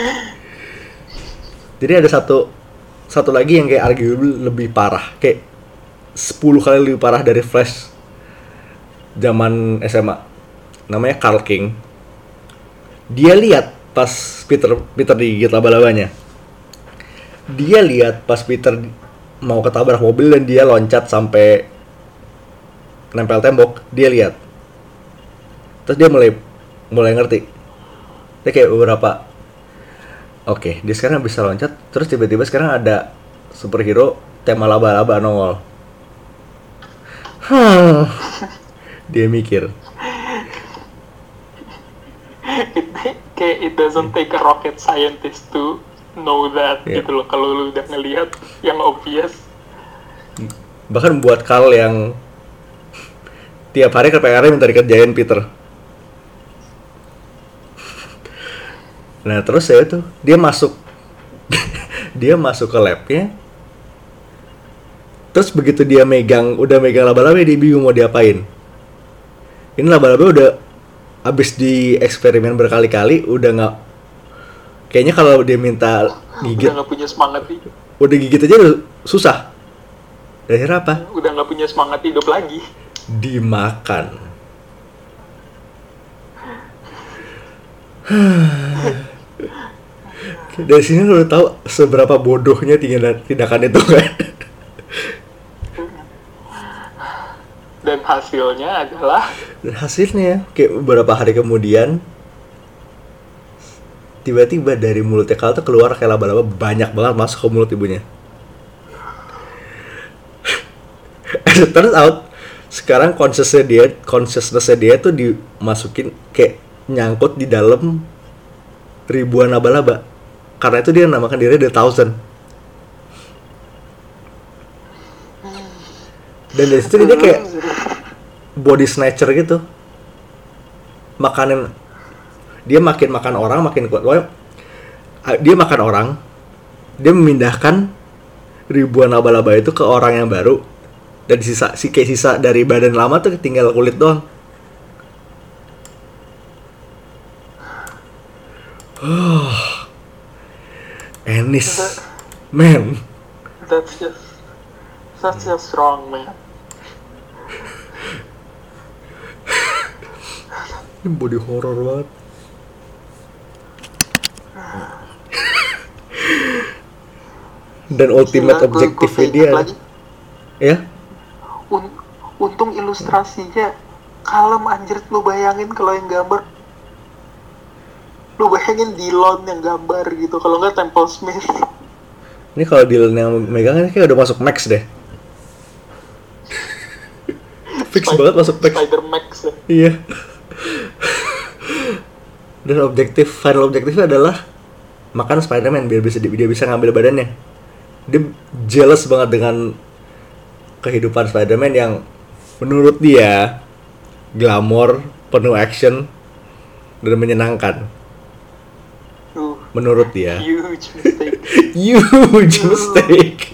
Jadi ada satu satu lagi yang kayak arguably lebih parah, kayak sepuluh kali lebih parah dari Flash zaman S M A. Namanya Carl King. Dia lihat pas Peter Peter digigit laba-labanya. Dia lihat pas Peter mau ketabrak mobil dan dia loncat sampai nempel tembok. Dia lihat. Terus dia mulai mulai ngerti. Dia kayak beberapa, oke, dia sekarang bisa loncat. Terus tiba-tiba sekarang ada superhero tema laba-laba nongol. Hmm. Dia mikir. It, kayak it doesn't take a rocket scientist to know that, Yeah. gitu loh. Kalau lu udah ngelihat yang obvious. Bahkan buat Carl yang tiap hari ke P R minta dikerjain Peter. Nah terus ya itu, dia masuk dia masuk ke labnya. Terus begitu dia megang, udah megang laba-laba, dia bingung mau diapain. Ini laba-laba udah abis di eksperimen berkali-kali, udah nggak, kayaknya kalau dia minta gigit, Udah nggak punya semangat hidup. udah gigit aja udah susah. Dan akhirnya apa? Udah nggak punya semangat hidup lagi. Dimakan. Dari sini lo udah tahu seberapa bodohnya tindakan itu kan. Dan hasilnya adalah Dan hasilnya kayak beberapa hari kemudian tiba-tiba dari mulutnya Carl tuh keluar kayak laba-laba banyak banget masuk ke mulut ibunya. As it turns out, sekarang consciousness dia, consciousness dia tuh dimasukin kayak nyangkut di dalam ribuan laba-laba. Karena itu dia namakan diri The Thousand. Dan dari situ dia kayak body snatcher gitu. Makanin, dia makin makan orang makin kuat. Pokoknya, dia makan orang, dia memindahkan ribuan laba-laba itu ke orang yang baru. Dan sisa, si kayak sisa dari badan lama tuh tinggal kulit doang. Oh, Ennis, man. that's just such a strong man. Ini body horror banget. Dan ultimate Gila, gua- objektifnya gua dia, keinget lagi, ya? un- untung ilustrasinya kalem anjir. Lu bayangin kalau yang gambar, lu bayangin Dillon yang gambar gitu, kalau nggak Temple Smith. Ini kalau Dylan yang megang ini kayak udah masuk Max deh. Fix Spider- banget masuk Max. Spider Max ya. Iya. Dan objektif, final objektifnya adalah makan Spider-Man biar bisa dia bisa ngambil badannya. Dia jealous banget dengan kehidupan Spider-Man yang menurut dia glamor, penuh action, dan menyenangkan. Uh, Menurut dia. huge mistake. Huge mistake.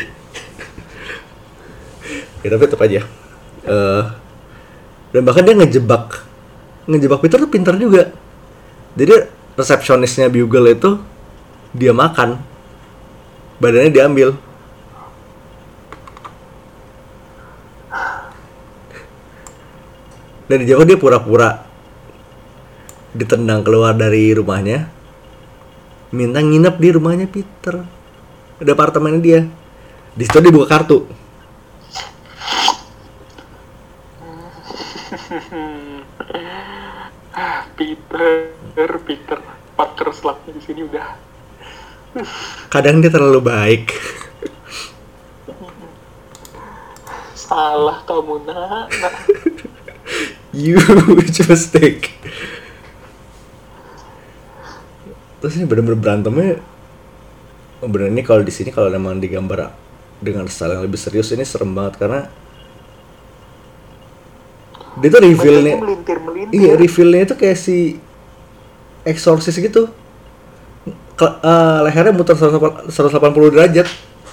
Ya tapi tetap aja. Eh, dan bahkan dia ngejebak ngejebak Peter tuh pintar juga. Jadi resepsionisnya Bugle itu dia makan, badannya diambil. Dan di jauh dia pura-pura ditendang keluar dari rumahnya, minta nginep di rumahnya Peter, di apartemennya dia. Di situ dia buka kartu. Peter, Peter, Parker slapnya di sini udah. Kadang dia terlalu baik. Salah kamu nak. nak. Huge mistake. Terus ini bener-bener berantemnya. Oh, bener ini kalau di sini kalau memang digambar dengan style yang lebih serius ini serem banget karena dia tuh reveal-nya. Melintir-melintir. Iya, reveal-nya itu kayak si Exorcist gitu. Ke, uh, lehernya muter seratus delapan puluh derajat.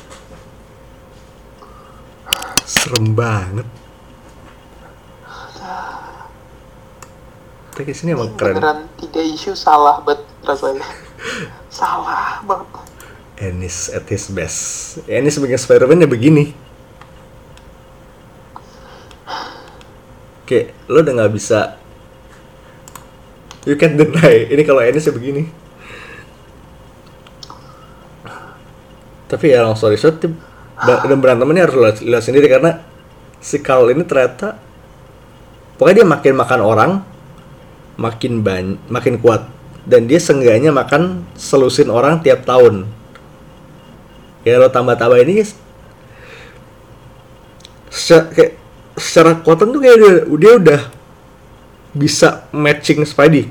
Serem banget. Tapi sini emang keren. Beneran tiga isu salah banget rasanya. Salah banget. Ennis at his best. Ennis sebagai Spider-Man ya begini. Kayak lo udah nggak bisa. You can't deny. Ini kalau Ennis ya begini. Tapi ya long story short, dan berantemannya harus lihat, lihat sendiri karena si Carl ini ternyata pokoknya dia makin makan orang, makin banyak, makin kuat, dan dia seenggaknya makan selusin orang tiap tahun. Ya lo tambah-tambah ini secara, kayak, secara kekuatan tuh kayak dia, dia udah bisa matching Spidey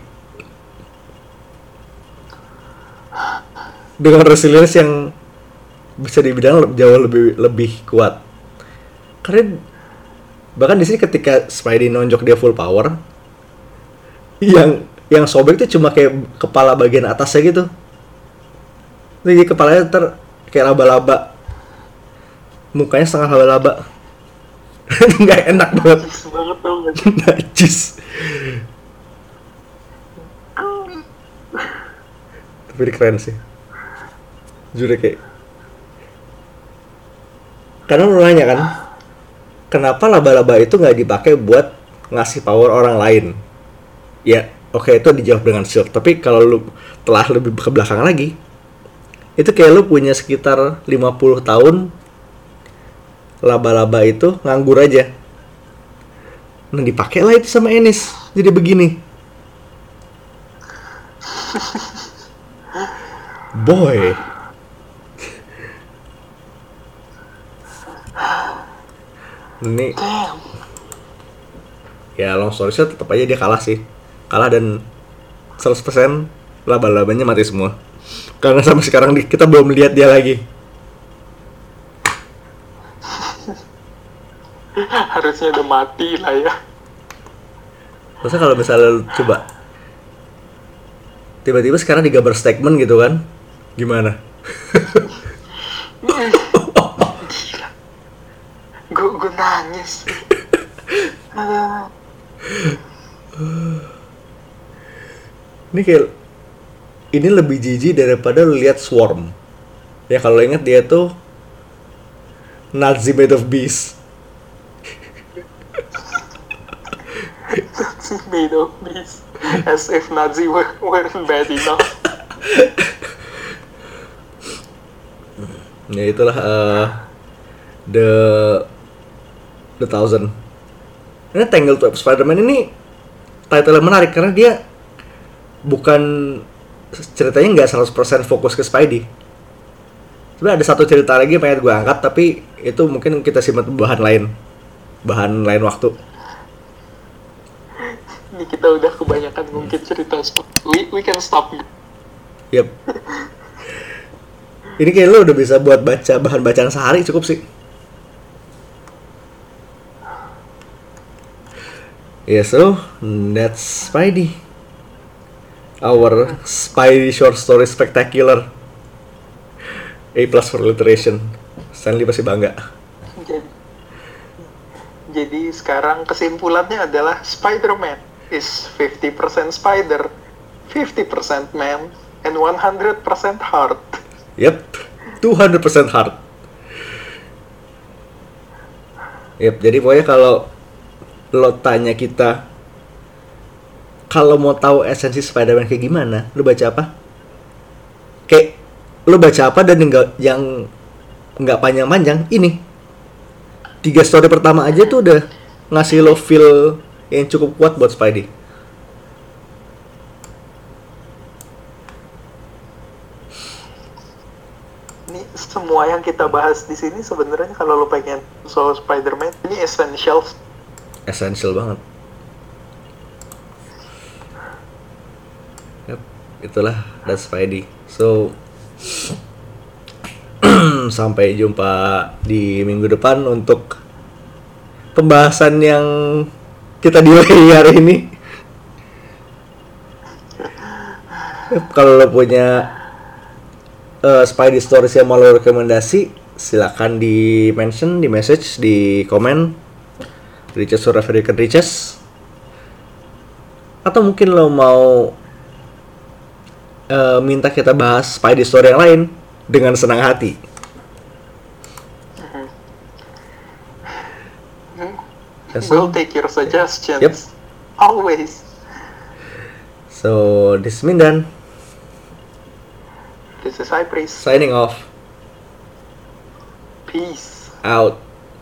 dengan resilience yang bisa dibilang jauh lebih lebih kuat. Karena bahkan di sini ketika Spidey nonjok dia full power, yang yang sobek tuh cuma kayak kepala bagian atasnya gitu. Jadi kepalanya ter kayak laba-laba, mukanya setengah laba-laba. Nggak enak banget. Najis banget tau gak? Najis. Tapi ini keren sih. Jujur kayak. Karena lu nanya kan, kenapa laba-laba itu nggak dipakai buat ngasih power orang lain? Ya, oke okay, itu dijawab dengan shield. Tapi kalau lu telah lebih ke belakang lagi, itu kayak lu punya sekitar lima puluh tahun laba-laba itu nganggur aja. Nah dipakai lah itu sama Ennis, jadi begini. Boy. Ini ya long story short tetap aja dia kalah sih. Kalah dan seratus persen laba-labanya mati semua. Karena sampai sekarang kita belum lihat dia lagi. Harusnya udah mati lah ya. Masa kalau misalnya lu coba tiba-tiba sekarang digambar statement gitu kan, gimana? Gue gue nangis. Ini kayak ini lebih jijik daripada lu lihat Swarm. Ya kalau ingat dia tuh Nazi made of beast. Made of beast. As if Nazi were, weren't bad enough. Ya itulah uh, the the thousand. Ini Tangled Web Spider-Man ini title yang menarik karena dia bukan ceritanya nggak seratus persen fokus ke Spidey. Sebenarnya ada satu cerita lagi yang pengen gue angkat tapi itu mungkin kita simpan bahan lain, bahan lain waktu. Ini kita udah kebanyakan ngungkit cerita. We we can stop. Yep. Ini kayak lo udah bisa buat baca bahan bacaan sehari cukup sih. Yeah, so that's Spidey. Our Spidey short story spectacular. A plus for alliteration. Stanley pasti bangga. Jadi, jadi sekarang kesimpulannya adalah Spider-Man is fifty percent spider, fifty percent man, and one hundred percent heart. Yep, two hundred percent heart. Yep, jadi pokoknya kalau lo tanya kita kalau mau tahu esensi Spider-Man kayak gimana, lo baca apa? Kayak lo baca apa dan yang, yang nggak panjang-panjang, ini tiga story pertama aja tuh udah ngasih lo feel yang cukup kuat buat Spidey. Ini semua yang kita bahas di sini sebenarnya kalau lo pengen soal Spider-Man ini essential. Essential banget. Yep, itulah that's Spidey. So sampai jumpa di minggu depan untuk pembahasan yang kita delay hari ini. Yep, kalau lo punya uh, Spidey Stories yang mau lo rekomendasi, silakan di mention, di message, di komen, Riches or African Riches. Atau mungkin lo mau uh, minta kita bahas Spidey Story yang lain, dengan senang hati. Mm-hmm. We'll take your suggestions. Yep. Always. So, this is Mindan. This is Cypress. Signing off. Peace. Out.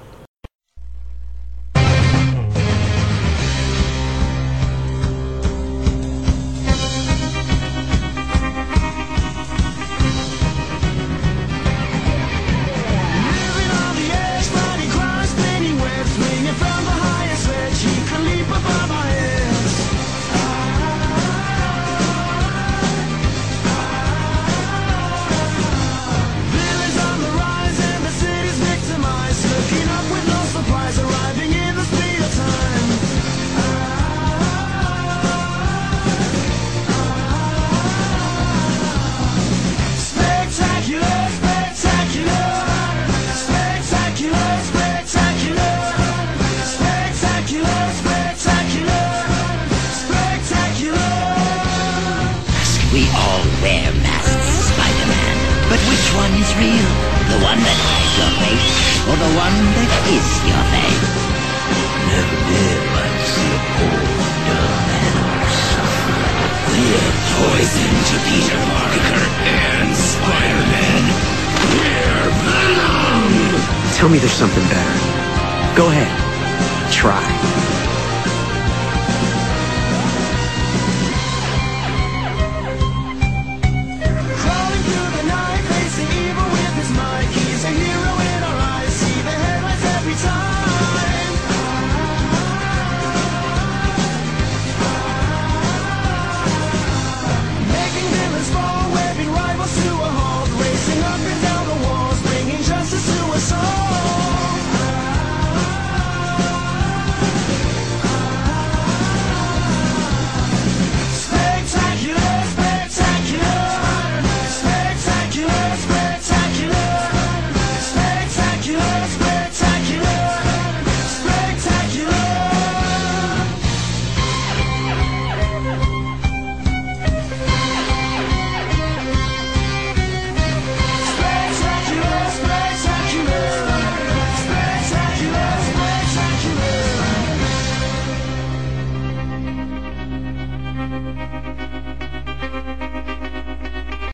Or the one that is your face. Never did like to see a poor dumb man suffer. We're poison to Peter Parker and Spider-Man. We're Venom! Tell me there's something better. Go ahead. Try.